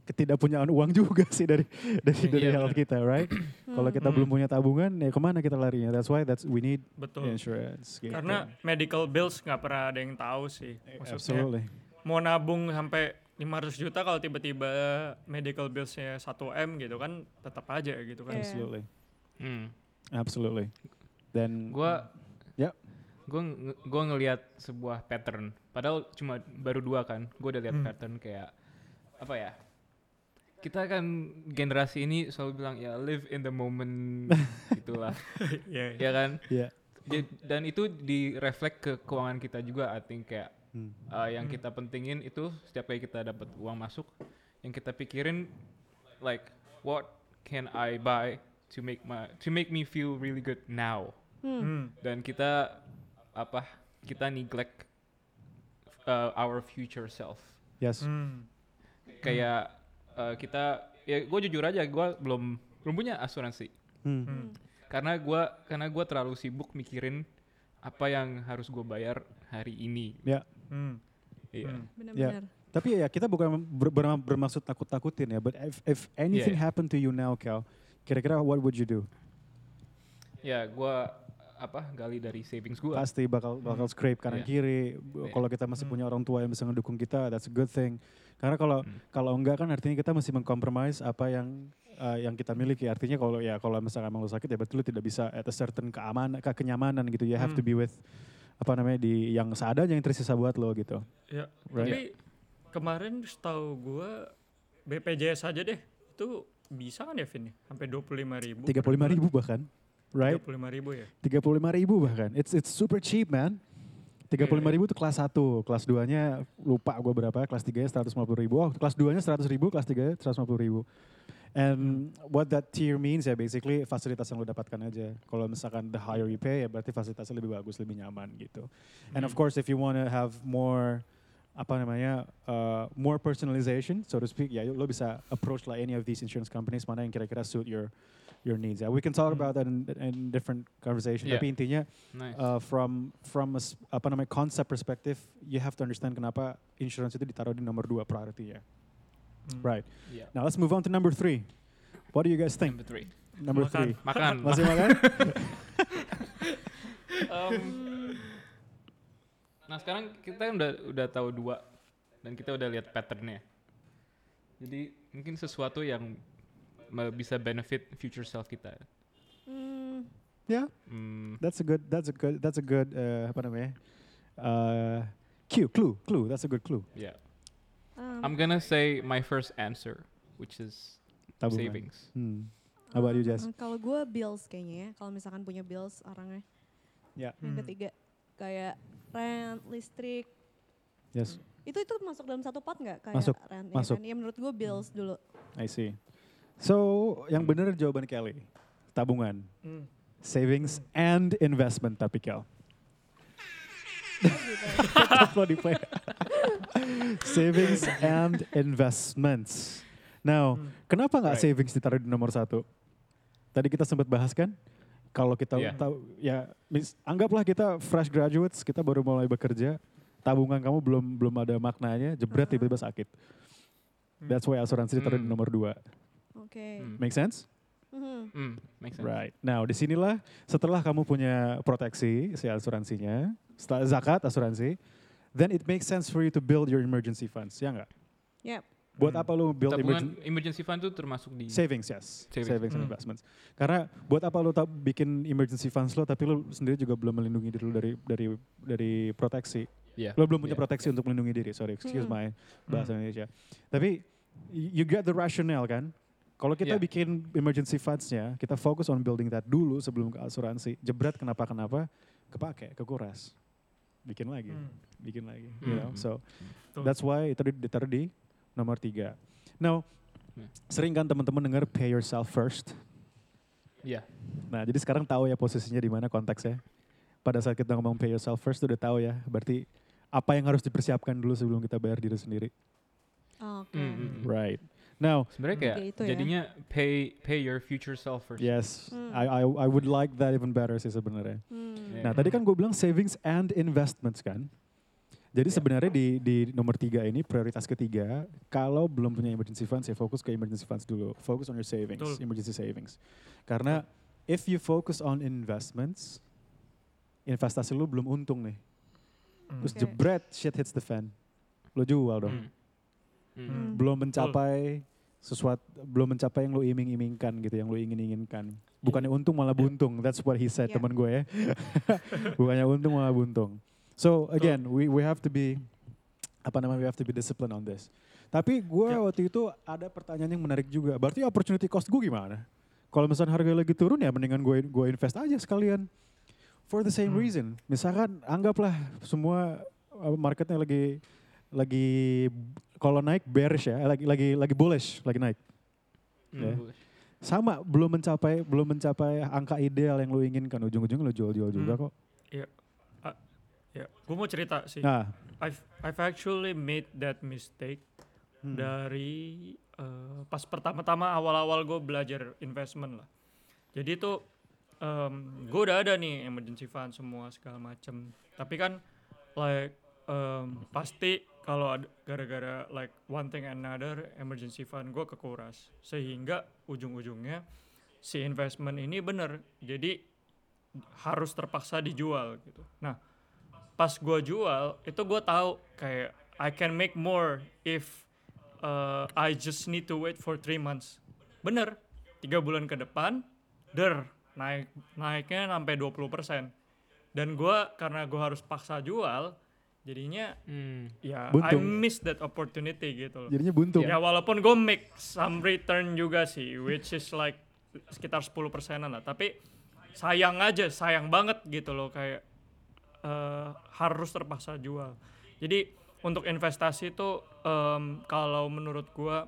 ketidakpunyaan uang juga sih dari dari dari Iya, health benar. kita, right? Kalau kita Hmm. belum punya tabungan, ya kemana kita larinya? That's why that's we need Betul. insurance. gitu. Karena medical bills nggak pernah ada yang tahu sih. Maksudnya Absolutely. mau nabung sampai lima ratus juta kalau tiba-tiba medical billsnya satu M gitu kan tetap aja gitu kan. Iya. Absolutely. Hmm. Absolutely. Dan Gua Ya. Gue nge- gua ngelihat sebuah pattern. Padahal cuma baru dua kan. Gue udah lihat Hmm. pattern kayak apa ya? Kita kan generasi ini selalu bilang ya live in the moment gitulah. Iya. Ya kan? ya. Jadi- dan itu direflek ke keuangan kita juga, I think kayak Hmm. uh, yang Hmm. kita pentingin itu setiap kali kita dapat uang masuk, yang kita pikirin like what can I buy to make my to make me feel really good now. Hmm. Hmm. Dan kita apa? Kita neglect uh, our future self. Yes. Hmm. Kayak uh, kita ya gue jujur aja gue belum belum punya asuransi Hmm. Hmm. karena gue karena gue terlalu sibuk mikirin apa yang harus gue bayar hari ini. Ya. Hmm. Iya. Hmm. Benar-benar. Tapi ya kita bukan ber- ber- bermaksud takut-takutin ya, but if, if anything Yeah. happen to you now, Cal, kira-kira what would you do? Ya gue apa gali dari savings gue. Pasti bakal bakal scrape kanan Yeah. kiri. Yeah. Kalau kita masih Hmm. punya orang tua yang bisa ngedukung kita, that's a good thing. Karena kalau Hmm. kalau enggak kan artinya kita masih mengcompromise apa yang uh, yang kita miliki. Artinya kalau ya kalau misalkan emang lu sakit ya berarti lu tidak bisa at a certain keamanan, ke kenyamanan gitu. You have to Hmm. be with apa namanya di yang seadanya yang tersisa buat lo gitu. Ya. Right. Tapi kemarin setahu gua B P J S aja deh itu bisa kan ya Vin? Sampai dua puluh lima ribu. tiga puluh lima ribu bahkan. Right? Tiga puluh lima ribu ya. tiga puluh lima ribu bahkan. It's it's super cheap, man. tiga puluh lima ribu itu kelas satu, kelas duanya lupa gue berapa, kelas tiganya seratus lima puluh ribu, oh kelas duanya seratus ribu, kelas tiganya seratus lima puluh ribu. And what that tier means ya basically fasilitas yang lo dapatkan aja. Kalau misalkan the higher you pay ya berarti fasilitasnya lebih bagus, lebih nyaman gitu. And of course if you wanna have more apa namanya uh, more personalization so to speak ya lo bisa approach lah any of these insurance companies mana yang kira-kira suit your your needs. Ya we can talk Hmm. about that in, in different conversation. Yeah. Tapi intinya Nice. uh, from from a, s- apa namanya concept perspective, you have to understand kenapa insurance itu ditaruh di nomor dua priority ya. Hmm. Right. Yeah. Now let's move on to number three. What do you guys think? Number three. Number Makan. three. Makan. Masih makan? Um, nah sekarang kita udah udah tahu dua dan kita udah lihat patternnya. Jadi mungkin sesuatu yang me- bisa benefit future self kita. Hmm. Yeah, Hmm, that's a good. That's a good. That's a good. Uh, apa namanya? Uh, cue, clue, clue. That's a good clue. yeah. Um, I'm gonna say my first answer, which is Tabungan. savings. Hmm. How about you, Jess? uh, Kalau gue bills kayaknya ya. Kalau misalkan punya bills orangnya. Ya. Yang Hmm. ketiga kayak rent, listrik. Yes, Itu itu masuk dalam satu pot nggak kayak Masuk, rent? masuk. Ya, kan? Ya menurut gue bills dulu. I see. So yang benar jawaban Kelly, tabungan, Hmm. savings and investment tapi Kel. Oh, gitu. Lo di play. Savings and investments. Now, Hmm. kenapa nggak Right. savings ditaruh di nomor satu? Tadi kita sempat bahas kan, kalau kita Yeah. tahu, ya, mis- anggaplah kita fresh graduates, kita baru mulai bekerja, tabungan kamu belum belum ada maknanya, jebret Ah. tiba-tiba sakit. Hmm. That's why asuransi ditaruh di Hmm. nomor dua. Oke. Hmm. Make sense? Mhm. Hmm, makes sense. Right. Now, disinilah setelah kamu punya proteksi si asuransinya, setelah zakat asuransi, then it makes sense for you to build your emergency funds, ya nggak? Yep. Buat Hmm. apa lo build Tabungan emergency emergency fund itu termasuk di savings? Yes, Savings. savings, and Hmm. investments. Karena buat apa lo tak bikin emergency funds lo, tapi lo sendiri juga belum melindungi diri lo dari dari dari proteksi. Yeah. Lo belum punya Yeah. proteksi untuk melindungi diri. Sorry, excuse Hmm. my bahasa Indonesia. Tapi y- you get the rationale kan? Kalau kita Yeah. bikin emergency funds-nya, kita fokus on building that dulu sebelum ke asuransi. Jebret kenapa-kenapa, kepake, kekuras. Bikin lagi, Hmm. bikin lagi. You know? Hmm. So Betul. that's why itu di- ditaruh di nomor tiga. Now, Yeah. sering kan teman-teman dengar pay yourself first. Iya. Nah, jadi sekarang tahu ya posisinya di mana konteksnya. Pada saat kita ngomong pay yourself first, udah tahu ya. Berarti apa yang harus dipersiapkan dulu sebelum kita bayar diri sendiri. Oke. Hmm, hmm, hmm. Right. Now, Sebenarnya kayak Kayak itu ya. jadinya pay pay your future self first. yes, Hmm. I, I I would like that even better sih sebenarnya. Hmm. Yeah. Nah, tadi kan gue bilang savings and investments kan. Jadi sebenarnya di di nomor tiga ini prioritas ketiga, kalau belum punya emergency funds ya fokus ke emergency funds dulu. Focus on your savings, Betul. emergency savings. Karena if you focus on investments, investasi lu belum untung nih. Hmm. Terus Oke. jebret shit hits the fan. Lo jual dong. Hmm. Hmm. Hmm. Belum mencapai sesuatu, belum mencapai yang lo iming-imingkan gitu, yang lo ingin-inginkan. Bukannya untung malah buntung. That's what he said Yeah. teman gue ya. Bukannya untung malah buntung. So again, we we have to be apa namanya, we have to be disciplined on this. Tapi gue Yeah. waktu itu ada pertanyaan yang menarik juga. Berarti opportunity cost gue gimana? Kalau misalnya harga lagi turun ya mendingan gue gue invest aja sekalian. For the same Hmm. reason. Misalkan anggaplah semua uh, marketnya lagi lagi kalau naik bearish ya, lagi lagi lagi bullish, lagi naik. Hmm. Ya. Sama belum mencapai belum mencapai angka ideal yang lo inginkan, ujung-ujungnya lo jual-jual juga Hmm. kok. Ya, gue mau cerita sih. Nah, I've I've actually made that mistake hmm. dari eh, pas pertama-tama awal-awal gue belajar investment lah. Jadi tuh gue udah ada nih emergency fund semua segala macem. Tapi kan like em, pasti kalau ada gara-gara like one thing and another emergency fund gue kekuras, sehingga ujung-ujungnya si investment ini bener jadi harus terpaksa dijual gitu. Nah pas gue jual itu gue tahu kayak I can make more if uh, I just need to wait for three months. Bener, tiga bulan ke depan, der naik naiknya sampai dua puluh persen. Dan gue karena gue harus paksa jual, jadinya Hmm. ya Buntung. I miss that opportunity gitu loh. Jadinya buntung. Ya walaupun gue make some return juga sih, which is like sekitar sepuluh persenan lah. Tapi sayang aja, sayang banget gitu loh kayak uh, harus terpaksa jual. Jadi untuk investasi itu um, kalau menurut gue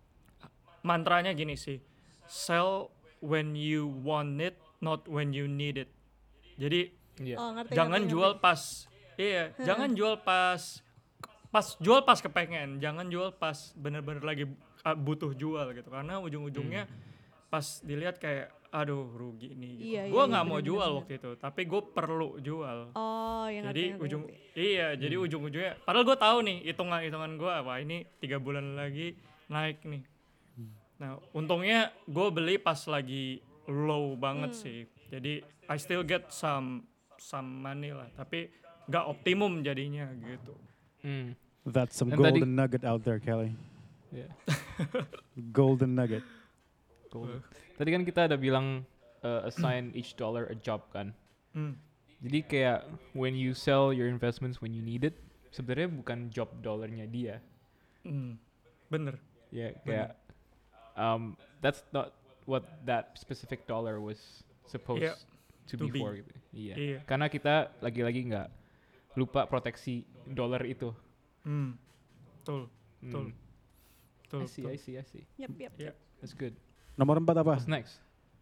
mantranya gini sih, sell when you want it, not when you need it. Jadi Iya. Oh, ngerti, jangan ngerti, jual ngerti. pas, iya, jangan jual pas, pas jual pas kepengen, jangan jual pas bener-bener lagi uh, butuh jual gitu. Karena ujung-ujungnya pas dilihat kayak, aduh rugi nih. Gitu. Iya, Gue iya, nggak iya, mau bener, jual bener, waktu itu, tapi gue perlu jual. Oh, yang Jadi ngerti, ngerti, ujung, ngerti. iya, jadi ujung-ujungnya, padahal gue tahu nih hitungan-hitungan gue, wah ini tiga bulan lagi naik nih. Nah, untungnya gue beli pas lagi low banget Hmm. sih. Jadi I still get some some money lah, tapi nggak optimum jadinya gitu. Hmm. That's some Dan tadi- golden nugget out there, Kelly. Iya. Golden nugget. Cool. Tadi kan kita ada bilang uh, assign each dollar a job kan. Hmm. Jadi kayak when you sell your investments when you need it, sebenarnya bukan job dollarnya dia. Hmm. Bener. Ya kayak um, that's not what that specific dollar was supposed Yeah, to, to be, be. for gitu. Iya. Iya. Karena kita lagi-lagi nggak lupa proteksi dolar itu. Hmm. Betul, betul, Hmm. betul. I see, betul. I see, I see. Yep, yep. Iya. That's good. Nomor empat apa? What's next?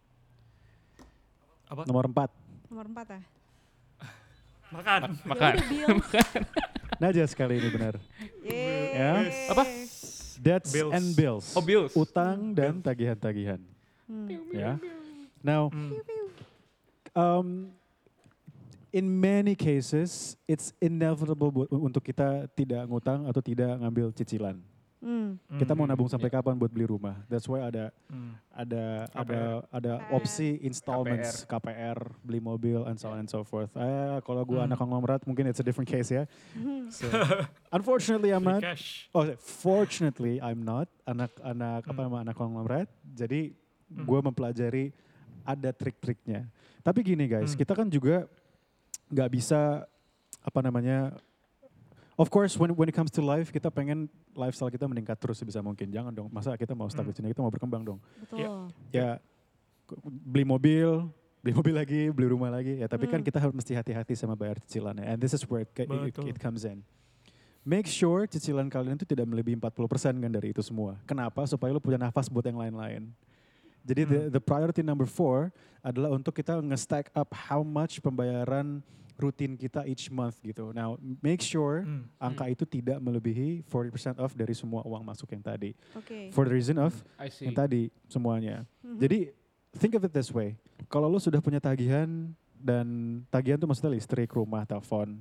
Apa? Nomor empat. Nomor empat ya. Makan. Makan. Ya udah, bills. Najas kali ini benar. Yeay. Ya. Apa? Debts Bills. and bills. Oh, bills. Utang dan tagihan-tagihan. Hmm. Ya. Now, Hmm. um, in many cases, it's inevitable buat, untuk kita tidak ngutang atau tidak ngambil cicilan. Hmm. Kita mau Hmm. nabung sampai kapan buat beli rumah? That's why ada Hmm. ada K P R. ada ada K P R. opsi installments K P R, beli mobil and so on and so forth. Eh, kalau gua Hmm. anak konglomerat mungkin it's a different case ya. Hmm. So, unfortunately I'm Free not. cash. Oh, fortunately I'm not anak-anak apa Hmm. nama anak konglomerat. Jadi Hmm. gua mempelajari ada trik-triknya. Tapi gini guys, Hmm. kita kan juga nggak bisa apa namanya. Of course, when when it comes to life, kita pengen lifestyle kita meningkat terus sebisa mungkin. Jangan dong, masa kita mau stuck Hmm. di sini, kita mau berkembang dong. Betul. Ya, k- beli mobil, beli mobil lagi, beli rumah lagi. Ya, tapi kan Hmm. kita harus mesti hati-hati sama bayar cicilannya. And this is where it, it, Betul. it comes in. Make sure cicilan kalian itu tidak melebihi empat puluh persen kan dari itu semua. Kenapa? Supaya lu punya nafas buat yang lain-lain. Jadi the, Hmm. the priority number four adalah untuk kita nge-stack up how much pembayaran rutin kita each month gitu. Now, make sure Hmm. angka itu tidak melebihi forty percent off dari semua uang masuk yang tadi. Oke. For the reason of I see. yang tadi semuanya. Mhm. Jadi think of it this way. Kalau lu sudah punya tagihan dan tagihan tuh maksudnya listrik, rumah, telepon.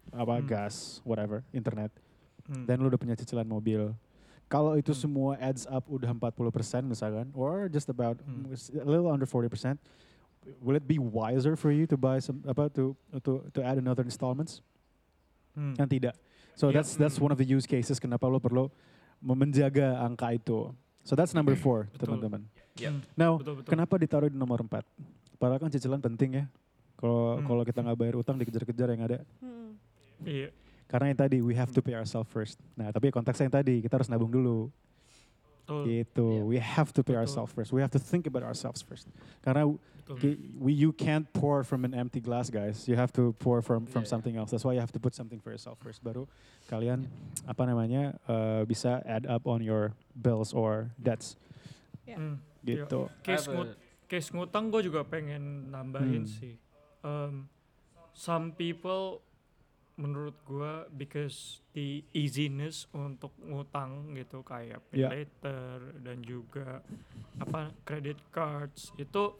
apa Hmm. gas, whatever, internet. Hmm. Dan lu udah punya cicilan mobil. Kalau itu Hmm. semua adds up udah empat puluh persen misalkan, or just about Hmm. a little under forty percent, will it be wiser for you to buy some apa to to to add another installments? Hmm. Kan tidak. So Yeah. that's that's Hmm. one of the use cases kenapa lo perlu mem- menjaga angka itu. So that's number four, Betul. teman-teman. Yep. Hmm. Now, Betul, betul. kenapa ditaruh di nomor empat? Padahal kan cicilan penting ya. Kalau Hmm. kalau kita nggak bayar utang dikejar-kejar yang ada. Hmm. Iya. Karena yang tadi we have to pay ourselves first. Nah, tapi konteksnya yang tadi kita harus nabung dulu. Betul. Gitu. Iya. We have to pay Betul. ourselves first. We have to think about ourselves first. Karena Betul. ki- we you can't pour from an empty glass, guys. You have to pour from from Yeah. something else. That's why you have to put something for yourself first. Baru kalian apa namanya uh, bisa add up on your bills or debts. Hmm. Gitu. Case, I have ngut- a- case ngutang gue juga pengen nambahin Hmm. sih. Um, some people menurut gue because the easiness untuk ngutang gitu kayak pay Yeah. later dan juga apa credit cards itu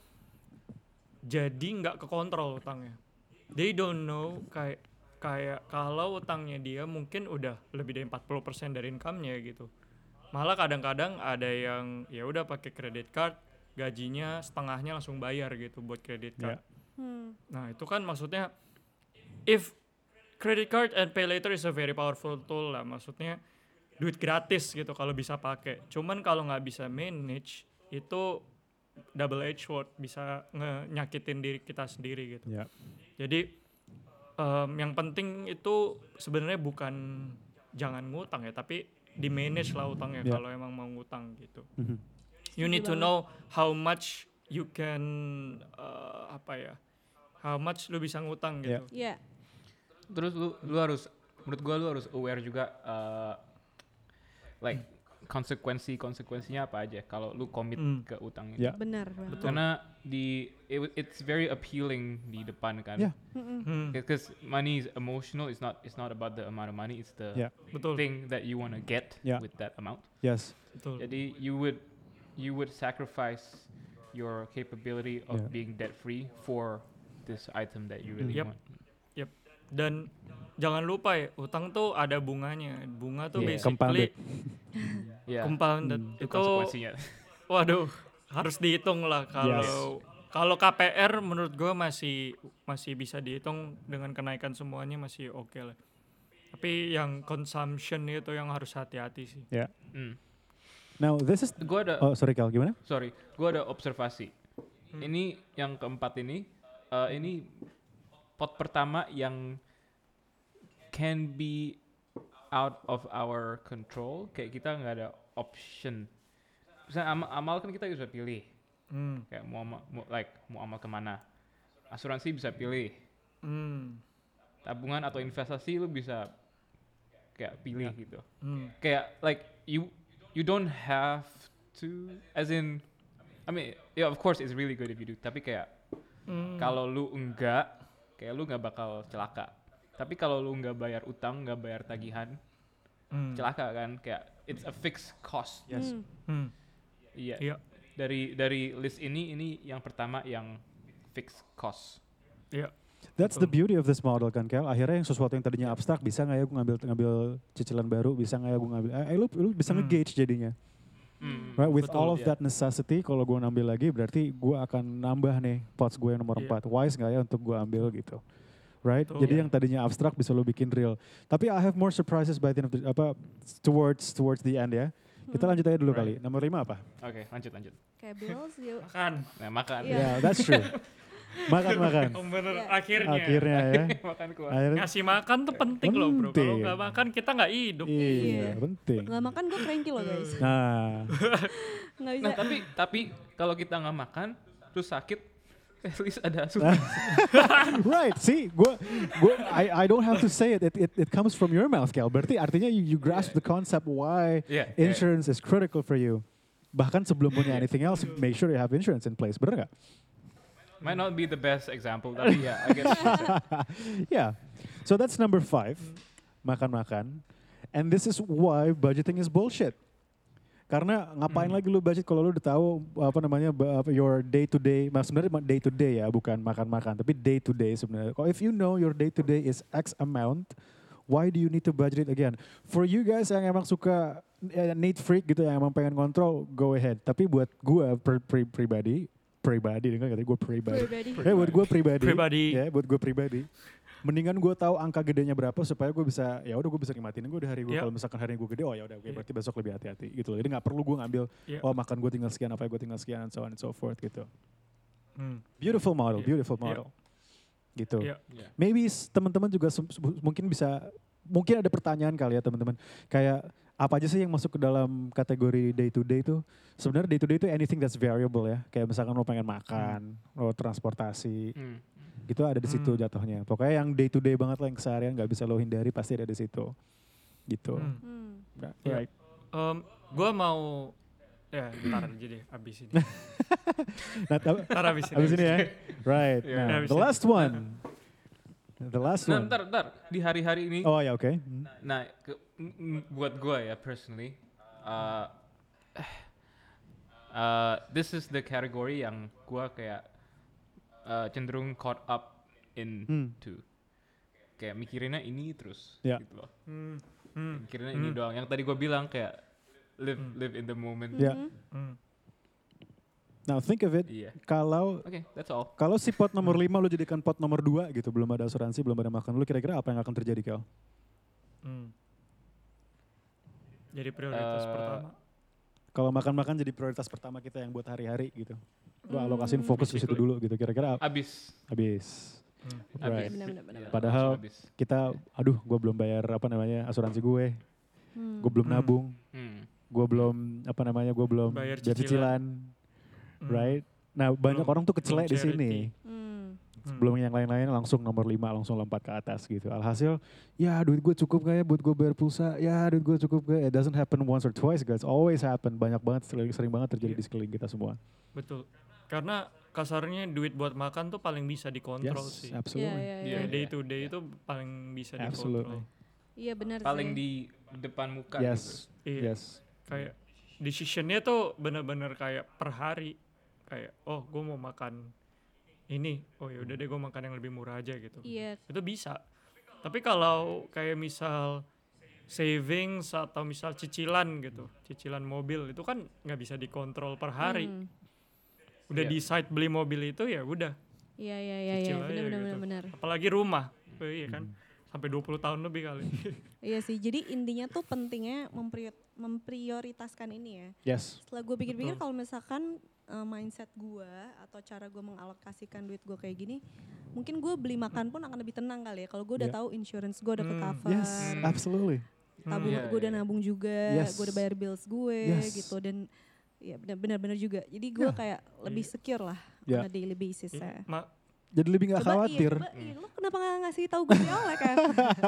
jadi nggak kekontrol utangnya. They don't know kayak kayak kalau utangnya dia mungkin udah lebih dari empat puluh persen dari income-nya gitu. Malah kadang-kadang ada yang ya udah pakai credit card, gajinya setengahnya langsung bayar gitu buat credit card. Yeah. Hmm. Nah, itu kan maksudnya if credit card and pay later is a very powerful tool lah, maksudnya duit gratis gitu kalau bisa pakai. Cuman kalau nggak bisa manage itu double edged sword, bisa nge- nyakitin diri kita sendiri gitu. Ya. Jadi em, yang penting itu sebenarnya bukan jangan ngutang ya, tapi di manage lah utangnya Ya. kalau emang mau ngutang gitu. Mhm. You need to banget. know how much you can uh, apa ya, how much lu bisa ngutang gitu. Iya. Terus lu lu harus menurut gua lu harus aware juga uh, like konsekuensi konsekuensinya apa aja kalau lu commit Hmm. ke utang itu. Ya. Benar banget. Betul. Karena di it, it's very appealing di depan kan. Yeah. Mm-mm. Hmm, Because money is emotional. It's not it's not about the amount of money. It's the Yeah. betul, thing that you want to get Yeah. with that amount. Yes. betul. Jadi you would you would sacrifice your capability of Yeah. being debt free for this item that you really Yep. want. Dan jangan lupa ya, utang tuh ada bunganya. Bunga tuh Yeah. basically Yeah. compounded. Hmm. Itu Itu konsekuensinya. waduh, harus dihitung lah kalau kalau K P R menurut gue masih masih bisa dihitung dengan kenaikan semuanya masih oke lah. Tapi yang consumption itu yang harus hati-hati sih. Hmm. Now this is Gua ada oh sorry Kal, gimana? sorry, gua ada observasi. Hmm. Ini yang keempat ini, uh, ini pot pertama yang can be out of our control. Kayak kita nggak ada option. Misalnya amal, amal kan kita bisa pilih. Hmm. Kayak mau, ama- mau like mau amal kemana. Asuransi bisa pilih. Hmm. Tabungan atau investasi lu bisa kayak pilih gitu. Hmm. Kayak like you you don't have to, as in, I mean, yeah, of course it's really good if you do. Tapi kayak Hmm. kalau lu enggak, kayak lu nggak bakal celaka. Tapi kalau lu nggak bayar utang, nggak bayar tagihan, Hmm. celaka kan? Kayak it's a fixed cost. Yes. Hmm. Hmm. Iya. Iya. Dari dari list ini ini yang pertama yang fixed cost. Iya. That's the Betul. beauty of this model kan Kel. Akhirnya yang sesuatu yang tadinya abstrak bisa nggak ya gue ngambil ngambil cicilan baru, bisa nggak ya gue ngambil, eh, lu, lu bisa Hmm. nge-gauge jadinya. Hmm. Right, with Betul, all of iya. that necessity, kalau gue ngambil lagi berarti gue akan nambah nih pots gue yang nomor Iya. empat. Wise nggak ya untuk gue ambil gitu. Right? Betul. Jadi Iya. yang tadinya abstrak bisa lo bikin real. Tapi I have more surprises by the end of the, apa towards towards the end ya. Kita Hmm. lanjut aja dulu Right. kali. Nomor lima apa? Oke, lanjut lanjut. Kayak bills yuk. Makan. Nah, makan. Iya. Yeah, that's true. makan makan. Oh, bener. Iya. Akhirnya. Akhirnya ya. makan kuah. Akhirnya, Ngasih makan tuh penting loh bro. Kalau Penting. nggak makan kita nggak hidup. iya, Iya. penting. Nggak makan gue cranky loh guys. Nah, Nggak bisa. Nah, tapi tapi kalau kita nggak makan terus sakit, at least ada asupan. right. See, gua, gua, I, I don't have to say it. It, it. it comes from your mouth, Kel. Berarti artinya you, you grasp the concept why Iya. insurance is critical for you. Bahkan sebelum punya anything else, make sure you have insurance in place. Bener nggak? Might not be the best example, tapi ya, I guess. Yeah. So that's number five. Makan-makan. And this is why budgeting is bullshit. Karena ngapain Hmm. lagi lu budget kalau lu udah tahu apa namanya ba- apa, your day to day, nah, sebenarnya day to day ya, bukan makan-makan, tapi day to day sebenarnya. Kalau if you know your day to day is X amount, why do you need to budget it again? For you guys yang emang suka eh, need freak gitu, yang emang pengen kontrol, go ahead. Tapi buat gua pri- pri- pribadi, pribadi dengan kata gue pribadi. Pribadi. Ya buat gue pribadi. Pribadi. Ya buat gue pribadi. Mendingan gue tahu angka gedenya berapa supaya gue bisa ya udah gue bisa nikmatin gue di hari gue. Iya. Kalau misalkan hari gue gede, oh ya udah, oke, Iya. berarti besok lebih hati-hati gitu loh. Jadi nggak perlu gue ngambil, Iya. oh makan gue tinggal sekian, apa gue tinggal sekian, and so on and so forth gitu. Hmm. Beautiful model, Iya. beautiful Iya. model. Gitu. Iya. Yeah. Maybe s- teman-teman juga sem- sem- mungkin bisa, mungkin ada pertanyaan kali ya teman-teman. Kayak apa aja sih yang masuk ke dalam kategori day to day itu? Sebenarnya day to day itu anything that's variable ya. Kayak misalkan lo pengen makan, lo transportasi, Hmm. gitu ada di situ Hmm. jatuhnya. Pokoknya yang day to day banget lah, yang keseharian nggak bisa lo hindari pasti ada di situ. Gitu. Hmm. Hmm. Right. Iya. Right. Um, gue mau ya ntar aja deh abis ini. Nah, tab- Ntar abis ini. abis ini ya. Right. Iya. Nah, Abis the ini. last one. The last Nah, one. bentar, bentar. Di hari-hari ini, Oh ya, oke. Hmm. nah, ke- m- m- buat gue ya, personally, uh, uh, this is the category yang gue kayak uh, cenderung caught up into. Hmm. Kayak mikirinnya ini terus, Ya. gitu loh. Hmm. Hmm. Mikirinnya ini Hmm. doang. Yang tadi gue bilang kayak live live in the moment. Ya. Mhm. Hmm. Now think of it. Iya. Kalau Oke, that's all. kalau si pot nomor lima lo jadikan pot nomor dua gitu, belum ada asuransi, belum ada makan, lu kira-kira apa yang akan terjadi, Kel? Hmm. Jadi prioritas Eh, pertama. Kalau makan-makan jadi prioritas pertama kita yang buat hari-hari gitu. Lu Hmm. alokasiin fokus ke situ Basically. dulu gitu. Kira-kira ap- Abis. habis. Hmm. Right. Abis. Benar, benar, benar. Iya, Padahal- langsung abis. Kita, aduh, gue belum bayar apa namanya asuransi gue, Hmm. gue belum Hmm. nabung, Hmm. gue belum apa namanya, gue belum Bayar bayar cicilan. cicilan, Hmm. right? Nah banyak Belum- orang tuh kecelek belum di sini. charity. Hmm. Hmm. Belum yang lain-lain langsung nomor lima langsung lompat ke atas gitu. Alhasil, ya duit gue cukup gak ya buat gue bayar pulsa? Ya duit gue cukup gak? It doesn't happen once or twice guys, always happen. Banyak banget, sering, sering banget terjadi Iya. di sekeliling kita semua. Betul. Karena kasarnya duit buat makan tuh paling bisa dikontrol Yes, sih. absolutely. Iya, iya, Iya, iya. Day to day itu paling bisa Absolutely. dikontrol. Iya benar Paling sih. di depan muka gitu. Yes, Iya. yes. Kayak decisionnya tuh bener-bener kayak per hari. Kayak oh gue mau makan ini, oh ya udah deh gue makan yang lebih murah aja gitu. Iya. Itu bisa. Tapi kalau kayak misal savings atau misal cicilan gitu, cicilan mobil itu kan nggak bisa dikontrol per hari. Hmm. Udah Iya. decide beli mobil itu ya udah. Iya, iya, iya, iya. Cicil Benar, aja benar, gitu. benar, benar. Apalagi rumah, oh, iya kan, sampai dua puluh tahun lebih kali. Iya sih. Jadi intinya tuh pentingnya memprior- memprioritaskan ini ya. Yes. Setelah gue pikir-pikir Betul. kalau misalkan uh, mindset gue atau cara gue mengalokasikan duit gue kayak gini, mungkin gue beli makan pun akan lebih tenang kali ya. Kalau gue udah Yeah. tahu insurance gue udah ke Hmm. cover, Yes, Hmm. absolutely. tabung Iya, gue udah iya. nabung juga, Yes. gue udah bayar bills gue Yes. gitu dan ya benar-benar juga. Jadi gue Yeah. kayak lebih secure lah Yeah. on a daily basis Iya, ya. Ma- Jadi lebih gak Coba khawatir. iya, coba, iya, lo kenapa gak ngasih tahu gue di awal kan?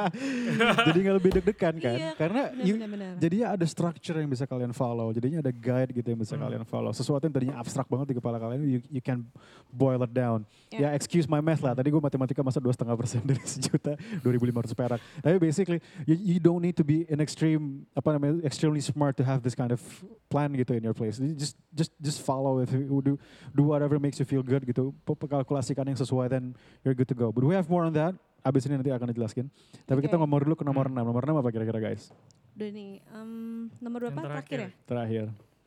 Jadi gak lebih deg-degan kan? Iya, Karena you- benar-benar. jadinya ada structure yang bisa kalian follow. Jadinya ada guide gitu yang bisa Hmm. kalian follow. Sesuatu yang tadinya abstrak banget di kepala kalian, you, you can boil it down. Yeah. Ya excuse my math lah. Tadi gue matematika masa dua setengah persen dari sejuta, dua ribu lima ratus perak. Tapi basically, you, you don't need to be an extreme, apa namanya, extremely smart to have this kind of plan gitu in your place. You just just just follow it. Do do whatever makes you feel good gitu. Pe- Kalkulasikan yang sesuai, then you're good to go. But we have more on that. Abis ini nanti akan dijelaskan. Tapi kita Oke. ngomong dulu ke nomor Hmm. enam. Nomor enam apa kira-kira guys? Udah nih, em, nomor berapa Yang terakhir ya? Terakhir.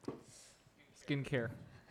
Skincare.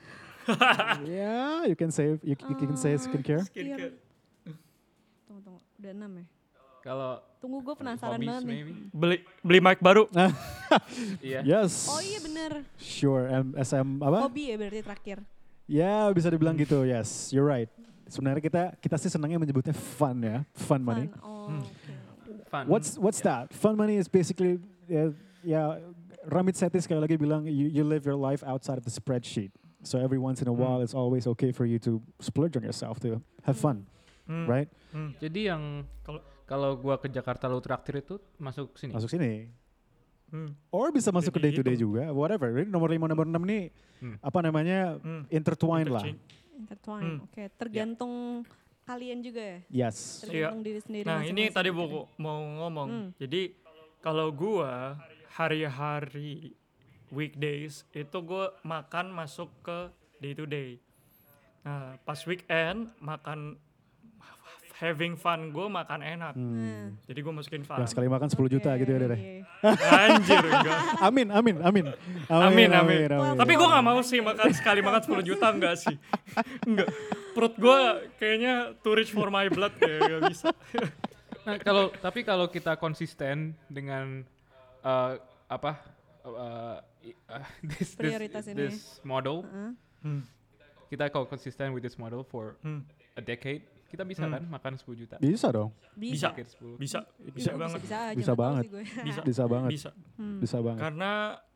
Yeah, you can say you, you can say Eh, skincare. Skincare. Tunggu, tunggu. Udah enam ya? Kalau Tunggu gue penasaran hobbies banget nih. maybe. Beli beli mic baru. Iya. Yes. Oh iya bener. Sure. M S M apa? Hobi ya berarti terakhir. Ya bisa dibilang gitu. Yes, you're right. Sebenarnya kita kita sih senangnya menyebutnya fun ya, fun money. Fun. Oh, Hmm. oke. Fun. What's what's that? Fun money is basically ya, ya Ramit Sethi sekali lagi bilang you, you live your life outside of the spreadsheet. So every once in a Hmm. while it's always okay for you to splurge on yourself to have fun, Hmm. right? Hmm. Jadi yang Kalau- kalau gua ke Jakarta lu traktir itu masuk sini. Masuk sini. Hmm. Or bisa masuk ke Jadi day to day gitu. juga, whatever. Jadi nomor lima, nomor enam nih Hmm. apa namanya Hmm. intertwined lah. Interchange. Intertwine. Hmm. Oke, tergantung kalian juga ya. Yes. Tergantung diri sendiri. Nah ini masing-masing. tadi Oke. mau mau ngomong. Hmm. Jadi kalau gua hari-hari weekdays itu gue makan masuk ke day to day. Nah pas weekend makan having fun gue makan enak. Hmm. Jadi gue masukin fun. Yang sekali makan sepuluh juta Oke, gitu ya deh. iya. Anjir enggak. Amin, amin, amin. Amin, amin. amin. Tapi gue gak mau sih makan sekali makan sepuluh juta enggak sih. Enggak. Perut gue kayaknya too rich for my blood ya, gak bisa. Nah, kalau tapi kalau kita konsisten dengan uh, apa uh, i- uh, this, this, Prioritas ini. this model, Heeh. Hmm. kita kalau konsisten with this model for Hmm. a decade, kita bisa Hmm. kan makan sepuluh juta. Bisa dong, Bisa. Decade sepuluh. Bisa, Bisa, bisa banget. Bisa, aja, Bisa nggak tahu banget. sih gue. Bisa. bisa banget, Bisa. Hmm. bisa banget. Karena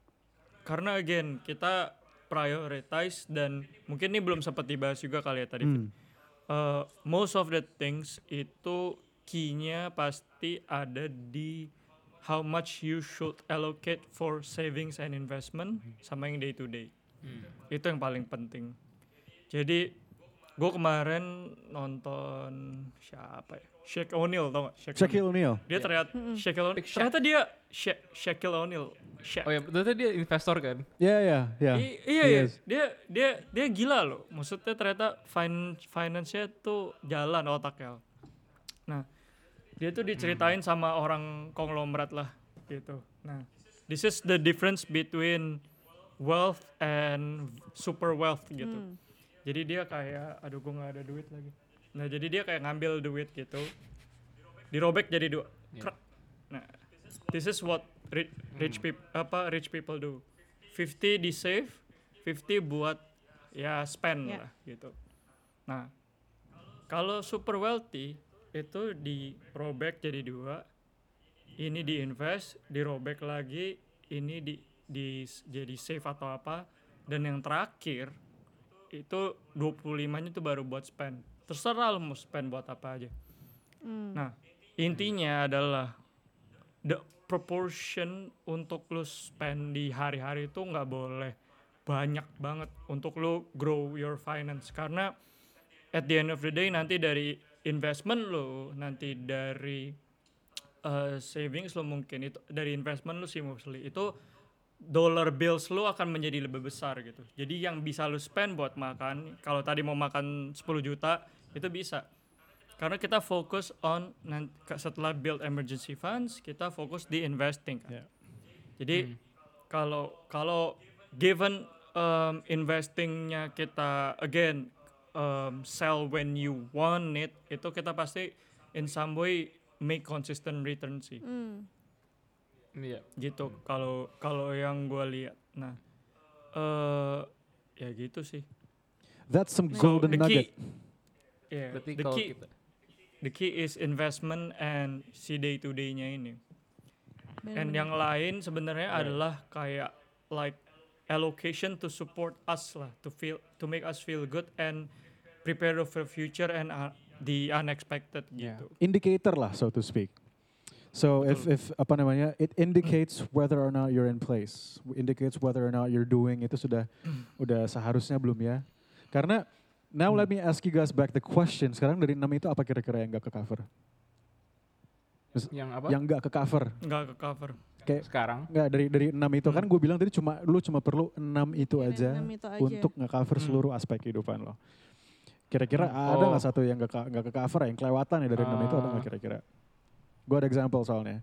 karena again kita prioritize dan mungkin ini belum sempat dibahas juga kali ya tadi. Hmm. Uh, most of the things itu key-nya pasti ada di how much you should allocate for savings and investment sama yang day to day. Hmm. Itu yang paling penting. Jadi gue kemarin nonton siapa ya? Shaquille O'Neal tau gak? Shaquille O'Neal. Dia ternyata Shaquille O'Neal. Big Shaq. Ternyata dia Sha- Shaquille O'Neal. Shaq. Oh ya, ternyata dia investor kan? Ya, ya, ya. I- iya iya, Yes. dia dia dia gila loh. Maksudnya ternyata fin finance-nya tuh jalan otaknya. Nah, dia tuh diceritain sama orang konglomerat lah gitu. Nah, this is the difference between wealth and super wealth gitu. Hmm. Jadi dia kayak aduh gue nggak ada duit lagi. Nah, jadi dia kayak ngambil duit gitu. Dirobek jadi dua. Yeah. Krek. Nah, this is what rich, rich people apa rich people do. fifty di save, fifty buat ya spend Yeah. lah gitu. Nah, kalau super wealthy itu dirobek jadi dua. Ini diinvest, dirobek lagi, ini di, di jadi save atau apa, dan yang terakhir itu dua puluh lima-nya itu baru buat spend. Terserah lo mau spend buat apa aja. Hmm. Nah, intinya adalah the proportion untuk lu spend di hari-hari itu nggak boleh banyak banget untuk lu grow your finance, karena at the end of the day nanti dari investment lu, nanti dari uh, savings lu mungkin itu dari investment lu sih mostly itu dollar bills lu akan menjadi lebih besar gitu. Jadi yang bisa lu spend buat makan, kalau tadi mau makan sepuluh juta itu bisa. Karena kita fokus on nanti setelah build emergency funds, kita fokus di investing kan. Yeah. Jadi kalau kalau given um, investingnya kita again um, sell when you want it, itu kita pasti in some way make consistent return sih. Hmm. Iya. Gitu kalau kalau yang gue lihat. Nah, eh ya gitu sih. That's some So, golden the nugget. key, yeah, Berarti the kalau key, kita the key is investment and si day to day-nya ini. And Bener-bener. yang lain sebenarnya Right. adalah kayak like allocation to support us lah, to feel to make us feel good and prepare for future and uh, the unexpected Yeah. gitu. Indicator lah, so to speak. So if Betul. if apa namanya, it indicates whether or not you're in place, indicates whether or not you're doing itu sudah udah seharusnya belum ya? Karena now let me ask you guys back the question. Sekarang dari enam itu apa kira-kira yang nggak ke cover? yang apa? Yang nggak ke cover? Nggak ke cover. Kayak Sekarang nggak dari dari enam itu kan Hmm. gue bilang tadi cuma lu cuma perlu enam itu Iya, aja enam itu aja. untuk nge-cover Hmm. seluruh aspek kehidupan lo. Kira-kira Hmm. ada Oh. nggak satu yang nggak ka- nggak ke cover yang kelewatan ya dari enam itu ada nggak Ah. kira-kira? Gue ada example soalnya.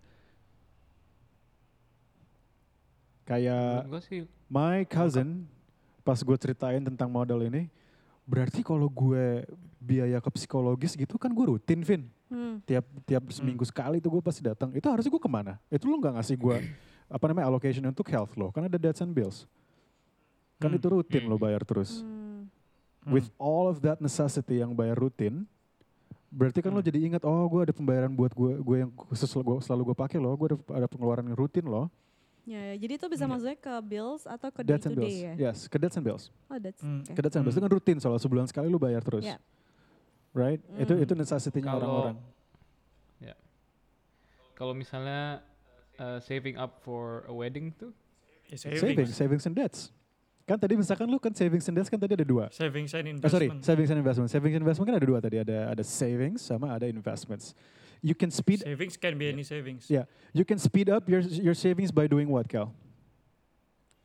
Kayak menurut gue sih my cousin pas gue ceritain tentang model ini, berarti kalau gue biaya ke psikologis gitu kan gue rutin, Vin. Hmm. Tiap tiap seminggu sekali tuh gue pasti datang. Itu harusnya gue kemana? Itu lu nggak ngasih gue apa namanya allocation untuk health lo, kan ada debts and bills. Kan Hmm. itu rutin Hmm. lo bayar terus. Hmm. With all of that necessity yang bayar rutin, berarti kan lo Hmm. jadi ingat, oh gue ada pembayaran buat gue gue yang khusus lo- gua, selalu gue pakai loh, gue ada, ada pengeluaran yang rutin loh. Ya, ya, jadi itu bisa Hmm. masuknya ke bills atau ke day Debts to and bills, day ya? yes, ke debts and bills. Oh, that's Hmm. okay. Ke debts and bills itu kan rutin soalnya sebulan sekali lo bayar terus, Ya. right? Itu Hmm. itu necessity-nya Kalau- orang-orang. ya. Kalau misalnya uh, saving up for a wedding tuh, Ya, Savings, savings. savings and debts. Kan tadi misalkan lu kan savings and debts kan tadi ada dua. Savings and Oh, investment. sorry, savings and investment. Savings and investment kan ada dua tadi, ada ada savings sama ada investments. You can speed Savings can be any savings. Yeah. you can speed up your your savings by doing what, Cal?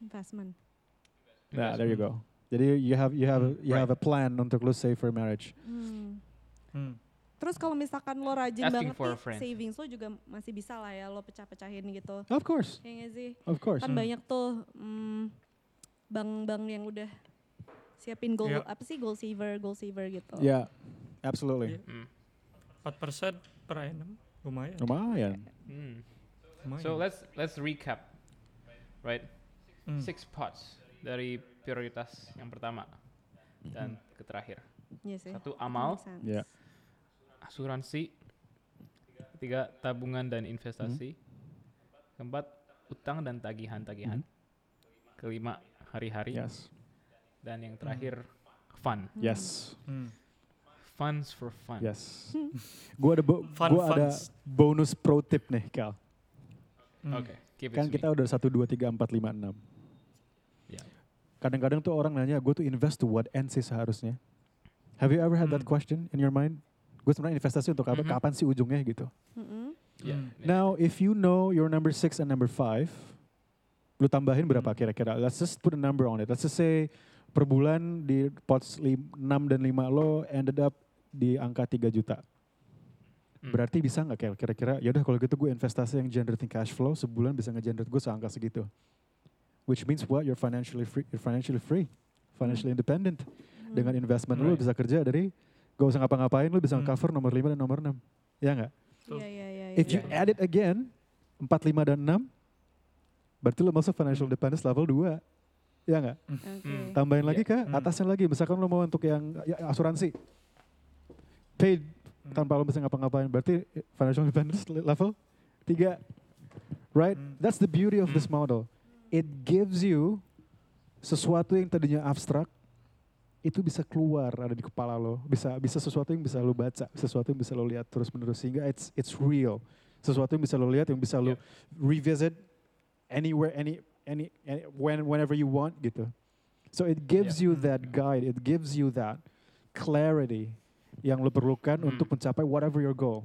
Investment. Nah, there you go. Jadi you have you have you Right. have a plan untuk lu save for marriage. Hmm. Hmm. Terus kalau misalkan lo rajin Asking banget for a nih, friend. savings lo juga masih bisa lah ya lo pecah-pecahin gitu. Of course, Ya nggak sih? of course. Kan Hmm. banyak tuh hmm, bank-bank yang udah siapin goal, Iya. apa sih goal saver, goal saver gitu. Yeah, absolutely. Iya. Hmm. empat persen per annum, lumayan. Lumayan. Hmm. lumayan. So let's let's recap, right? Hmm. Six parts dari prioritas yang pertama dan ke terakhir. Iya sih. Satu amal, Make sense. Yeah. asuransi, ketiga tabungan dan investasi, keempat utang dan tagihan-tagihan, kelima hari-hari, Yes. dan yang terakhir fun, Yes. Hmm. funds for fun. Yes. Gua ada bo- Fun gua ada funds. bonus pro tip nih, Kal. Hmm. Oke, keep it Kan to kita me. udah satu dua tiga empat lima enam. Yeah. Kadang-kadang tuh orang nanya, gue tuh invest to what end sih seharusnya? Have you ever had that Hmm. question in your mind? Gue sebenarnya investasi untuk apa? Mhm. Kapan sih ujungnya gitu? Mm-mm. Yeah, Hmm. yeah. Now, if you know your number six and number five, lu tambahin berapa Hmm. kira-kira? Let's just put a number on it. Let's just say per bulan di pots enam dan lima lo ended up di angka tiga juta. Hmm. Berarti bisa nggak kayak kira-kira, yaudah kalau gitu gue investasi yang generating cash flow sebulan bisa nge-generate gue seangka segitu. Which means what? You're financially free, you're financially free, financially independent. Hmm. Dengan investment lu Right. bisa kerja dari gak usah ngapa-ngapain, lu bisa Hmm. cover nomor lima dan nomor enam. Ya nggak? Iya, iya, iya. If iya. you add it again, empat, lima, dan enam, berarti lu masuk financial Hmm. independence level dua. Ya nggak? Oke. Hmm. Tambahin Iya. lagi kah? Hmm. Atasnya lagi. Misalkan lu mau untuk yang ya, asuransi. Paid Hmm. tanpa lu bisa ngapa-ngapain. Berarti financial independence le- level tiga. Right? Hmm. That's the beauty of this Hmm. model. It gives you sesuatu yang tadinya abstrak, itu bisa keluar ada di kepala lo. Bisa bisa sesuatu yang bisa lo baca, sesuatu yang bisa lo lihat terus-menerus. Sehingga it's it's real. Sesuatu yang bisa lo lihat, yang bisa lo Yeah. revisit anywhere, any, any, any when, whenever you want gitu. So it gives you that guide, it gives you that clarity yang lo perlukan Hmm. untuk mencapai whatever your goal.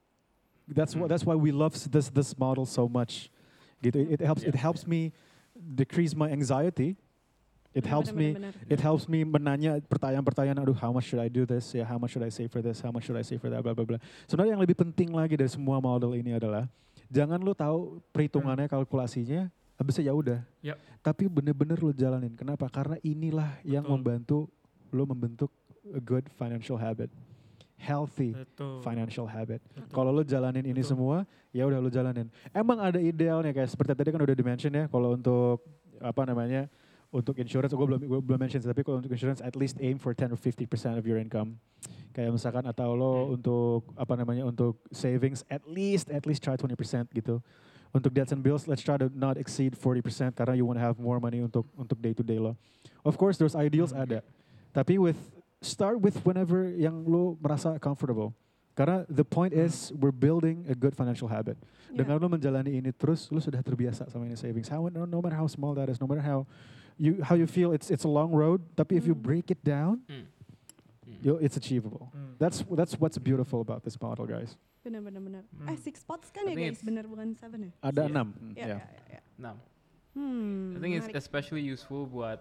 That's what that's why we love s- this this model so much. Gitu. It, it helps it Yeah. helps me decrease my anxiety. It Benar, helps benar, me benar. it helps me menanya pertanyaan-pertanyaan, aduh how much should I do this, ya how much should I save for this, how much should I save for that, bla bla bla. Sebenarnya yang lebih penting lagi dari semua model ini adalah jangan lu tahu perhitungannya, kalkulasinya, habisnya ya udah. Yap. Tapi bener-bener lu jalanin. Kenapa? Karena inilah yang Betul. membantu lu membentuk a good financial habit, healthy Betul. financial habit. Betul. Kalau lu jalanin ini Betul. semua, ya udah lu jalanin. Emang ada idealnya kayak seperti tadi kan udah di-mention ya, kalau untuk apa namanya? Untuk insurance, gue belum gue belum mention, tapi kalau untuk insurance at least aim for ten or fifty percent of your income. Kayak misalkan atau lo Hmm. untuk apa namanya untuk savings at least at least try twenty percent gitu. Untuk debts and bills, let's try to not exceed forty percent karena you want to have more money untuk untuk day to day lo. Of course, those ideals Hmm. ada. Tapi with start with whenever yang lo merasa comfortable. Karena the point Hmm. is we're building a good financial habit. Iya. Dengan lo menjalani ini terus, lo sudah terbiasa sama ini savings. How, no, no matter how small that is, no matter how you how you feel, it's it's a long road. Tapi if you Hmm. break it down, Hmm. Hmm. you'll, it's achievable. Hmm. That's that's what's beautiful about this model, guys. Benar, benar, benar. Hmm. Eh, six spots kan I ya think guys, it's- benar bukan seven ya? Ada Yeah. enam. Iya, Yeah. iya, iya. Nah, Hmm. I think it's menarik. especially useful buat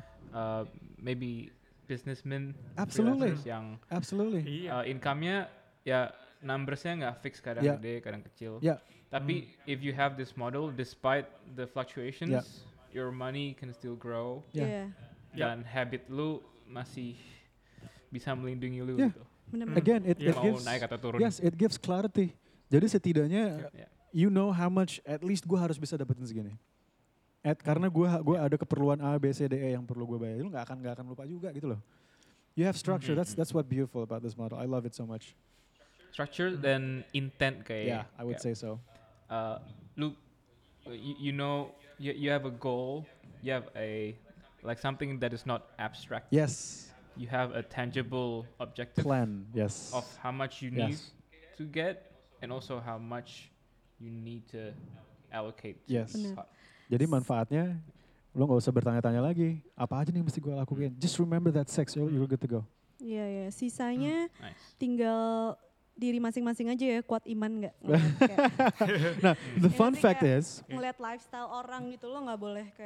uh, maybe businessmen, Absolutely. freelancers yang Absolutely. Iya. uh, income-nya ya numbersnya nggak fix, kadang Yeah. gede, kadang kecil. Yeah. Tapi if you have this model, despite the fluctuations, Yeah. your money can still grow Yeah. Iya. Yeah. dan habit lu masih bisa melindungi lu Yeah. gitu. Benar, Hmm. benar. Again, it, Yeah. it Mau gives naik atau turun. yes, it gives clarity. Jadi setidaknya Yeah. you know how much at least gue harus bisa dapetin segini. At, karena gue gue ada keperluan A, B, C, D, E yang perlu gue bayar. Lu nggak akan nggak akan lupa juga gitu loh. You have structure. Mhm. That's that's what beautiful about this model. I love it so much. Structure dan intent kayak. Yeah, I would say kayak, so. Uh, lu, you, you know, you, you have a goal. You have a like something that is not abstract. Yes. You have a tangible objective Plan. Yes. of how much you need Yes. to get, and also how much you need to allocate. to Yes. this Benar. pot. Jadi manfaatnya lo nggak usah bertanya-tanya lagi. Apa aja nih yang mesti gue lakuin? Just remember that six. You're, you're good to go. Iya, iya. Sisanya Nice. tinggal diri masing-masing aja ya, kuat iman nggak? Ngeliat kayak- Nah, the Ya fun nanti fact kayak is, ngeliat lifestyle orang gitu, lo nggak boleh kayak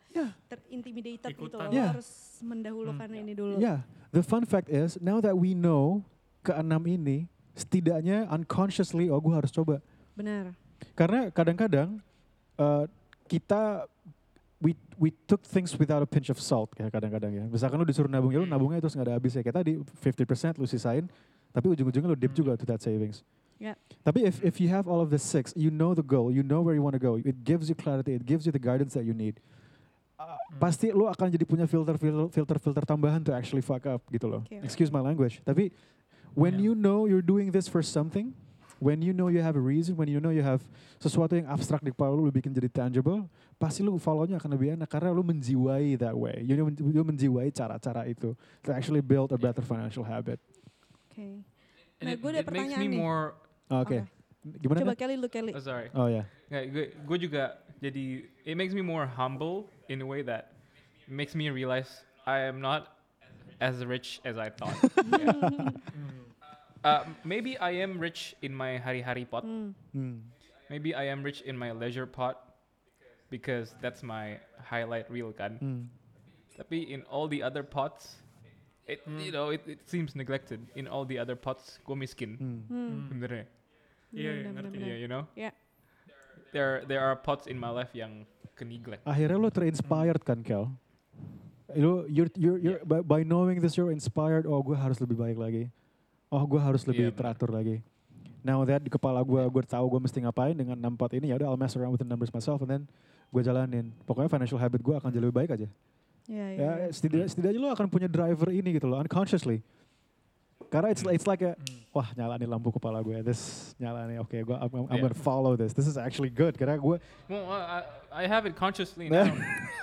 Yeah. terintimidated gitu Ikutan. loh. Yeah. Lo harus mendahulukan ini dulu. Yeah, the fun fact is now that we know keenam ini setidaknya unconsciously oh gue harus coba. Benar. Karena kadang-kadang uh, kita we we took things without a pinch of salt ya kadang-kadang ya. Misalkan lu disuruh nabung ya lu nabungnya terus nggak ada habis ya. Kayak tadi fifty percent lu sisain tapi ujung-ujungnya lu dip juga to that savings. Yeah. Tapi if if you have all of the six, you know the goal, you know where you want to go. It gives you clarity, it gives you the guidance that you need. Uh, pasti lu akan jadi punya filter filter filter tambahan to actually fuck up gitu loh. Okay. Excuse my language. Tapi when Yeah. you know you're doing this for something, when you know you have a reason, when you know you have sesuatu yang abstrak di kepala lu, lu bikin jadi tangible, pasti lu follow-nya akan lebih enak karena lu menjiwai that way. You, you menjiwai cara-cara itu to actually build a better financial habit. Oke. Okay. And Nah, it, gue ada it makes pertanyaan me nih. more. Oh, Oke. Oke. Gimana? Coba Kan? Kelly, lu Kelly. Oh, sorry. Oh ya. Nggak, gue, gue juga jadi. It makes me more humble in a way that makes me realize I am not as rich as I thought. Yeah. Uh, maybe I am rich in my hari-hari pot. Hmm. Hmm. Maybe I am rich in my leisure pot because that's my highlight reel kan. Hmm. Tapi in all the other pots, it you know it, it seems neglected. In all the other pots, gue miskin. Hmm. Hmm. Bener ya? Iya, iya, Benar, ngerti. benar, Yeah, you know. Yeah. There there are pots in my life yang ke neglect. Akhirnya lo terinspired kan, Kel? Lo you're, you're, you're, by, by knowing this you're inspired. Oh, gue harus lebih baik lagi. Oh, gue harus lebih Iya, benar. teratur lagi. Now that di kepala gue, gue tahu gue mesti ngapain dengan enam pot ini. Ya udah, I'll mess around with the numbers myself and then gue jalanin. Pokoknya financial habit gue akan jadi lebih baik aja. Iya, iya. Ya, iya. setidaknya, setidaknya lo akan punya driver ini gitu loh, unconsciously. Karena it's, it's like a, Hmm. wah nyala nih lampu kepala gue. This nyala nih, oke, gue I'm, I'm Yeah. gonna follow this. This is actually good. Karena gue, Well, I, I have it consciously now.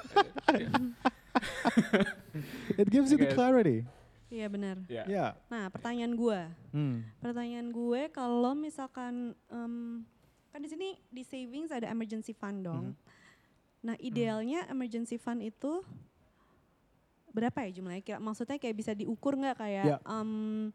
it gives you the guess. clarity. Iya benar. Yeah. Yeah. Nah, pertanyaan gue. Hmm. Pertanyaan gue kalau misalkan em, kan di sini di savings ada emergency fund dong. Mhm. Nah, idealnya emergency fund itu berapa ya jumlahnya? Kira maksudnya kayak bisa diukur nggak kayak Ya. em,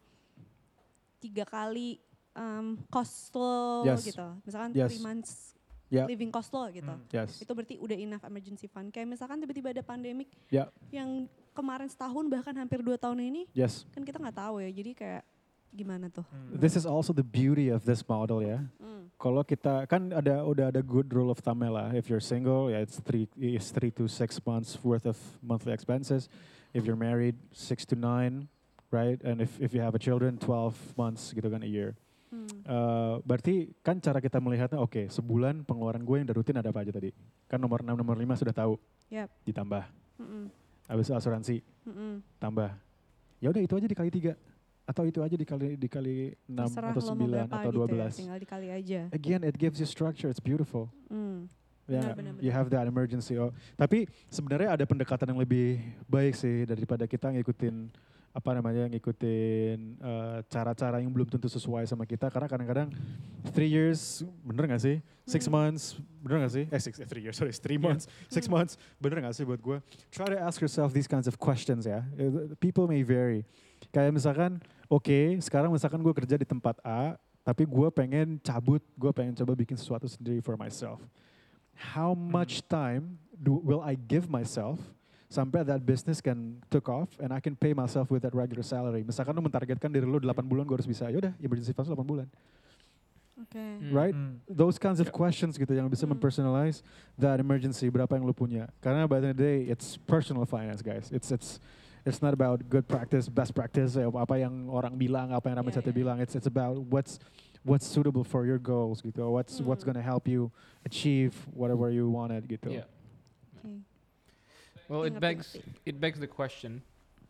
tiga kali em, cost lo Yes. gitu. Misalkan Yes. three months Ya. living cost lo gitu. Hmm. Yes. Itu berarti udah enough emergency fund. Kayak misalkan tiba-tiba ada pandemik Ya. yang kemarin setahun bahkan hampir dua tahun ini Yes. kan kita nggak tahu ya. Jadi kayak gimana tuh? Hmm. This is also the beauty of this model ya. Hmm. Kalau kita kan ada udah ada good rule of thumb lah. If you're single, ya it's three it's three to six months worth of monthly expenses. If you're married, six to nine, right? And if if you have a children, twelve months gitu kan a year. Hmm. Uh, berarti kan cara kita melihatnya, oke, sebulan pengeluaran gue yang udah rutin ada apa aja tadi? Kan nomor enam, nomor lima sudah tahu. Yap. Ditambah. Mm-mm. Habis asuransi, Mm-mm. tambah. Ya udah itu aja dikali tiga. Atau itu aja dikali dikali enam Terserah atau lo mau sembilan berapa atau gitu dua ya, belas. tinggal dikali aja. Again, it gives you structure, it's beautiful. Hmm. Ya, Benar, benar, you benar. have that emergency. Oh, tapi sebenarnya ada pendekatan yang lebih baik sih daripada kita ngikutin apa namanya ngikutin uh, cara-cara yang belum tentu sesuai sama kita. Karena kadang-kadang three years bener gak sih? Six Hmm. months bener gak sih? Eh six, eh, three years sorry, three months, six Hmm. months bener gak sih buat gue? Try to ask yourself these kinds of questions ya. Uh, People may vary. Kayak misalkan, oke, sekarang misalkan gue kerja di tempat A, tapi gue pengen cabut, gue pengen coba bikin sesuatu sendiri for myself. How much time do will I give myself sampai that business can took off and I can pay myself with that regular salary. Misalkan lu mentargetkan diri lu delapan bulan gue harus bisa, yaudah emergency fund delapan bulan. Oke. Hmm. Right? Hmm. Those kinds of Yeah. questions gitu yang bisa Hmm. mempersonalize that emergency, berapa yang lu punya. Karena by the end of the day, it's personal finance guys. It's it's it's not about good practice, best practice, eh, apa yang orang bilang, apa yang Ramad Yeah, Satya yeah. bilang. It's it's about what's what's suitable for your goals gitu. What's what's Hmm. gonna help you achieve whatever you wanted gitu. Yeah. Oke. Well, it Ngerti, begs ngerti. it begs the question.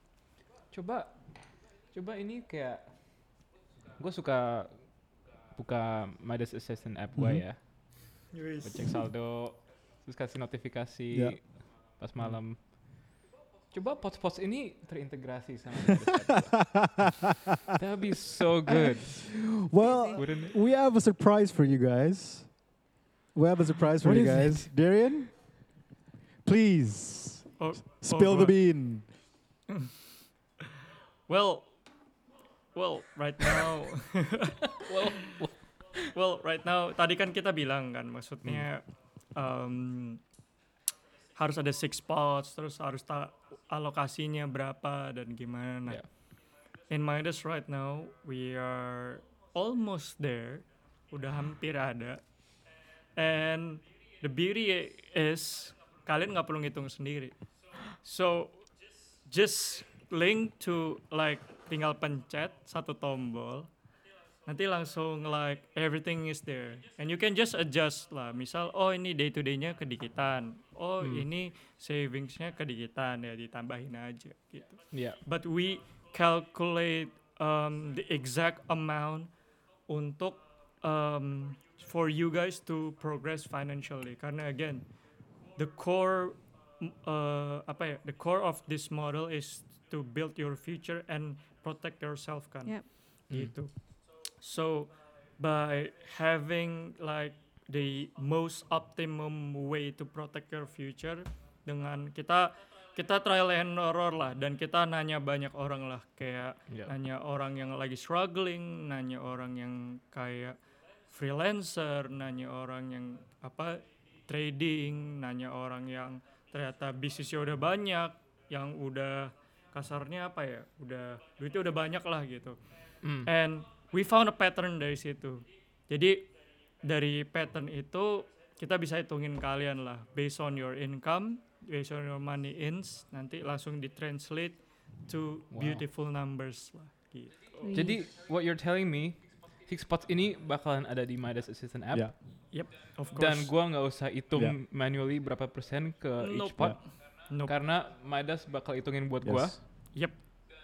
Coba, coba ini kayak gue suka buka Midas Assistant app gue Mhm. ya, Wis. gue cek saldo, terus kasih notifikasi Ya. pas malam. Coba pots-pots ini terintegrasi sama Midas app gua. That would be so good, Well, wouldn't it? we have a surprise for you guys. We have a surprise for What you is guys. Darian, please Oh, spill oh, the God. bean. Well, well, right now, Well, well, right now, tadi kan kita bilang kan, maksudnya um, harus ada six spots, terus harus ta- alokasinya berapa dan gimana. Nah, Yeah. in Midas right now we are almost there, udah hampir ada. And the beauty is kalian nggak perlu ngitung sendiri. So just link to like tinggal pencet satu tombol, nanti langsung like everything is there and you can just adjust lah. Misal oh ini day to day-nya kedikitan, oh Hmm. ini savings-nya kedikitan, ya ditambahin aja gitu. Yeah. But we calculate um, the exact amount untuk um, for you guys to progress financially. Karena again, the core m- uh, apa ya, the core of this model is to build your future and protect yourself kan. Yep. Gitu. So by having like the most optimum way to protect your future, dengan kita kita trial and error lah, dan kita nanya banyak orang lah, kayak Yeah. nanya orang yang lagi struggling, nanya orang yang kayak freelancer, nanya orang yang apa trading, nanya orang yang ternyata bisnisnya udah banyak, yang udah kasarnya apa ya, udah duitnya udah banyak lah gitu. Mm. And we found a pattern dari situ. Jadi dari pattern itu kita bisa hitungin kalian lah, based on your income, based on your money ins, nanti langsung ditranslate to Wow. beautiful numbers lah gitu. Wih. Jadi what you're telling me, six spots ini bakalan ada di Midas Assistant app. Yeah. Yep, of course. Dan gua nggak usah hitung Yeah. manually berapa persen ke each Nope. pot, Nope. karena Midas bakal hitungin buat gua. Yes. Yep.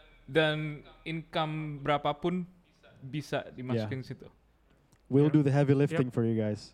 Dan income berapapun bisa dimasukin situ. We'll Yeah. do the heavy lifting for you guys.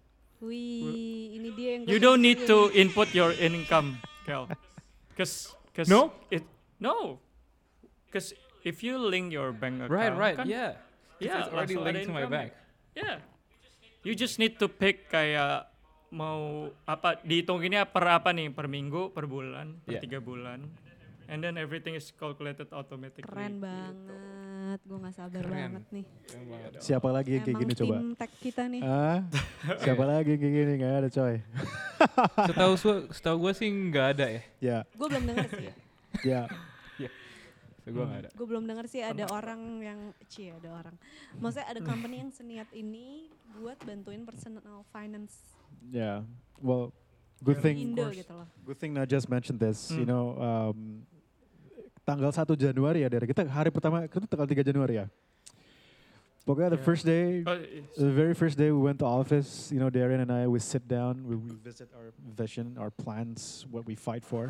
Wih, ini dia yang You gua don't need tunggu. to input your income, Kel. Cause, cause No? it no. Cause if you link your bank account, Right, right, kan, yeah. yeah, It's already langsung ada linked to my income-nya. bank. Yeah. You just need to pick kayak mau apa, dihitunginnya per apa nih, per minggu, per bulan, per Yeah. tiga bulan, and then everything is calculated automatically. Keren gitu. banget, gue nggak sabar Keren. banget nih. Keren banget. Siapa lagi yang kayak Emang gini coba? tim tech kita nih. Ah, siapa lagi yang kayak gini? Gak ada coy. Setahu gua, setahu gua sih nggak ada ya. Ya, Gue belum dengar sih. ya. Setahu gua nggak ada. Gue belum dengar sih ada orang yang, cie ada orang. Maksudnya ada company yang seniat ini buat bantuin personal finance Yeah. Well, good di thing Indo course. gitu loh. good thing I just mentioned this. You Hmm. know, um, tanggal satu Januari ya, dari kita hari pertama itu tanggal tiga Januari ya. Pokoknya the Yeah. first day, Oh, it's- the very first day we went to office, you know, Darren and I, we sit down, we revisit our vision, our plans, what we fight for.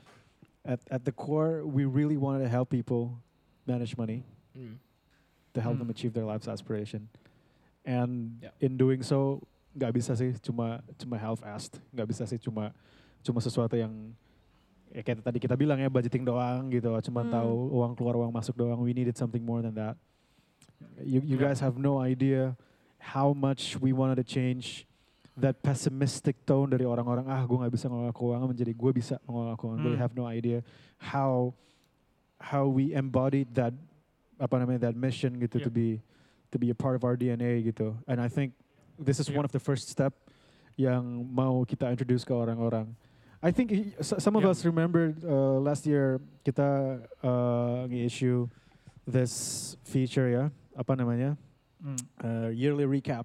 At at the core, we really wanted to help people manage money, Mm. to help them Hmm. achieve their life's aspiration. And Yeah. in doing so, nggak bisa sih cuma cuma half-assed, nggak bisa sih cuma cuma sesuatu yang ya kayak tadi kita bilang ya budgeting doang gitu, cuma Hmm. tahu uang keluar uang masuk doang. We needed something more than that. You you Yeah. guys have no idea how much we wanted to change that pessimistic tone dari orang-orang, ah gue nggak bisa ngelola keuangan, menjadi gue bisa mengelola keuangan. We Hmm. have no idea how how we embodied that apa namanya that mission gitu, to Yeah. be to be a part of our D N A gitu. And I think this is Yeah. one of the first step yang mau kita introduce ke orang-orang. I think i- s- some of Yeah. us remember uh, last year kita uh, nge-issue this feature ya, apa namanya, Mm. uh, yearly recap.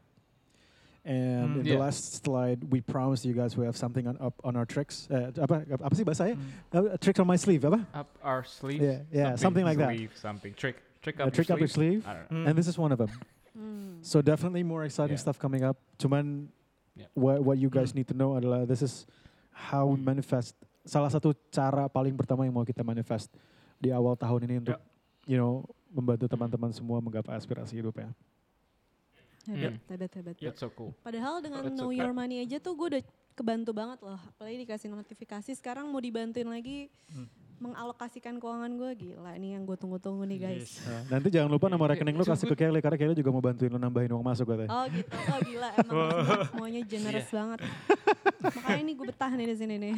And Mm. in the Yeah. last slide, we promised you guys we have something on up on our tricks. Uh, apa apa sih bahasanya? Mm. Uh, tricks on my sleeve, apa? Up our sleeve. Yeah, yeah, something like that. Sleeve, something. Trick. Trick A up trick your up your sleeve. sleeve. I don't know. Mm. And this is one of them. Hmm. So definitely more exciting Yeah. stuff coming up. Cuman Yeah. what what you guys Mm. need to know adalah this is how we manifest. Salah satu cara paling pertama yang mau kita manifest di awal tahun ini untuk you know membantu teman-teman semua menggapai aspirasi hidup ya. Hebat, Hmm. hebat, hebat. Yeah. That's so cool. Padahal dengan That's Know okay. Your Money aja tuh gue udah kebantu banget loh. Apalagi dikasih notifikasi, sekarang mau dibantuin lagi Hmm. mengalokasikan keuangan gue. Gila, ini yang gue tunggu-tunggu nih guys. Yes. Nah, nanti jangan lupa nomor Yeah, rekening lu it's so kasih ke Kelly karena Kelly juga mau bantuin lu nambahin uang masuk katanya. Oh gitu, oh gila emang semua- semuanya generous Iya. banget. Makanya ini gue betah nih di sini nih.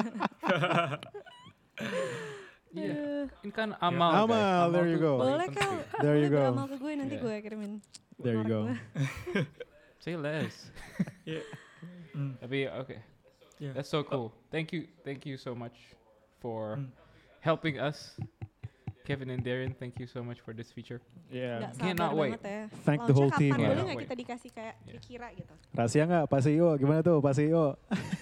Iya. Aduh. Ini kan amal, guys. Amal, there you tuh go. paling Boleh penting. Kal, There you boleh go. beramal ke gue nanti Yeah. gue kirimin. There you nomor go. gue. Say less. Yeah. Mm. Tapi oke. Yeah. That's so cool. Thank you, thank you so much for Mm. helping us, Kevin and Darren. Thank you so much for this feature. Yeah. Nggak Cannot sabar wait. banget ya. Thank the Launch-nya whole team. kapan? Yeah. Boleh Cannot nggak wait. kita dikasih kayak Yeah. kira-kira gitu? Rahasia nggak Pak C E O? Gimana tuh Pak C E O?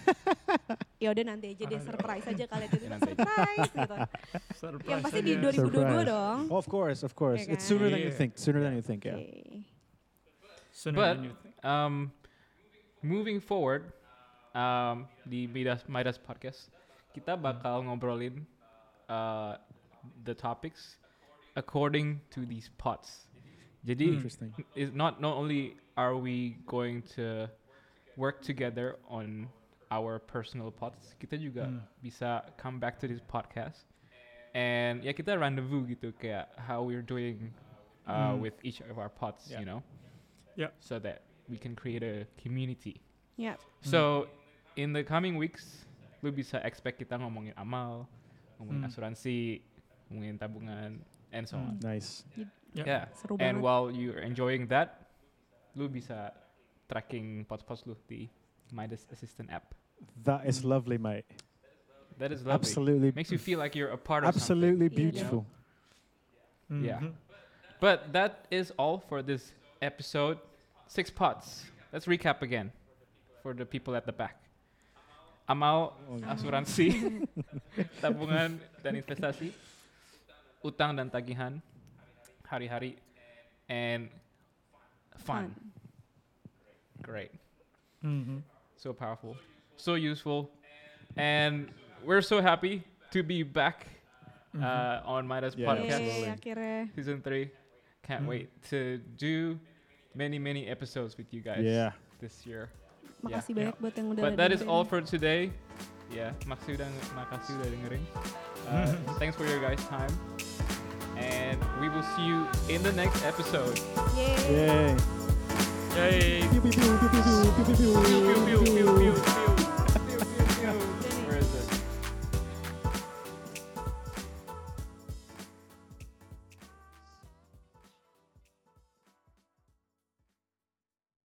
Ya udah nanti aja deh, Aduh. surprise aja kalian itu. Ya, nanti aja. Surprise gitu. Surprise Yang pasti di aja. dua ribu dua puluh dua Surprise. dong. Oh, of course, of course. Yeah, It's sooner kan? than you Yeah. think. Sooner than you think, Oke. yeah. Sooner But than you think. um, moving forward, um, di Midas Midas Podcast, kita bakal ngobrolin uh, the topics according to these pods. Jadi, Interesting. is not not only are we going to work together on our personal pods, kita juga Hmm. bisa come back to this podcast and ya kita rendezvous gitu kayak how we're doing uh, Hmm. with each of our pods, Yeah. you know, Yeah. so that we can create a community. Ya. So in the coming weeks, lu bisa expect kita ngomongin amal, ngomongin Hmm. asuransi, ngomongin tabungan, and so on. Nice. Yeah. Yeah. Seru And banget. while you're enjoying that, lu bisa tracking pods-pods lu di Midas Assistant app. That is lovely, mate. That is lovely. Absolutely. Makes you feel like you're a part of Absolutely Yeah. beautiful. Yeah. Mhm. something. But that is all for this episode. Six pods. Let's recap again for the people at the back. Amal, asuransi, tabungan dan investasi, utang dan tagihan, hari-hari, and fun. Great. Mhm. So powerful, so useful, and we're so happy to be back uh, on Midas Yeah, Podcast absolutely. Yeay, akhirnya. season three. Can't Mhm. wait to do many many episodes with you guys Yeah. this year. Makasih Yeah. banyak buat yang udah But that is dengerin. all for today. Yeah, makasih udah makasih udah dengerin. Uh, thanks for your guys' time, and we will see you in the next episode. Yeay. Yay. Yay. Pew, pew, pew, pew, pew, pew, pew, pew.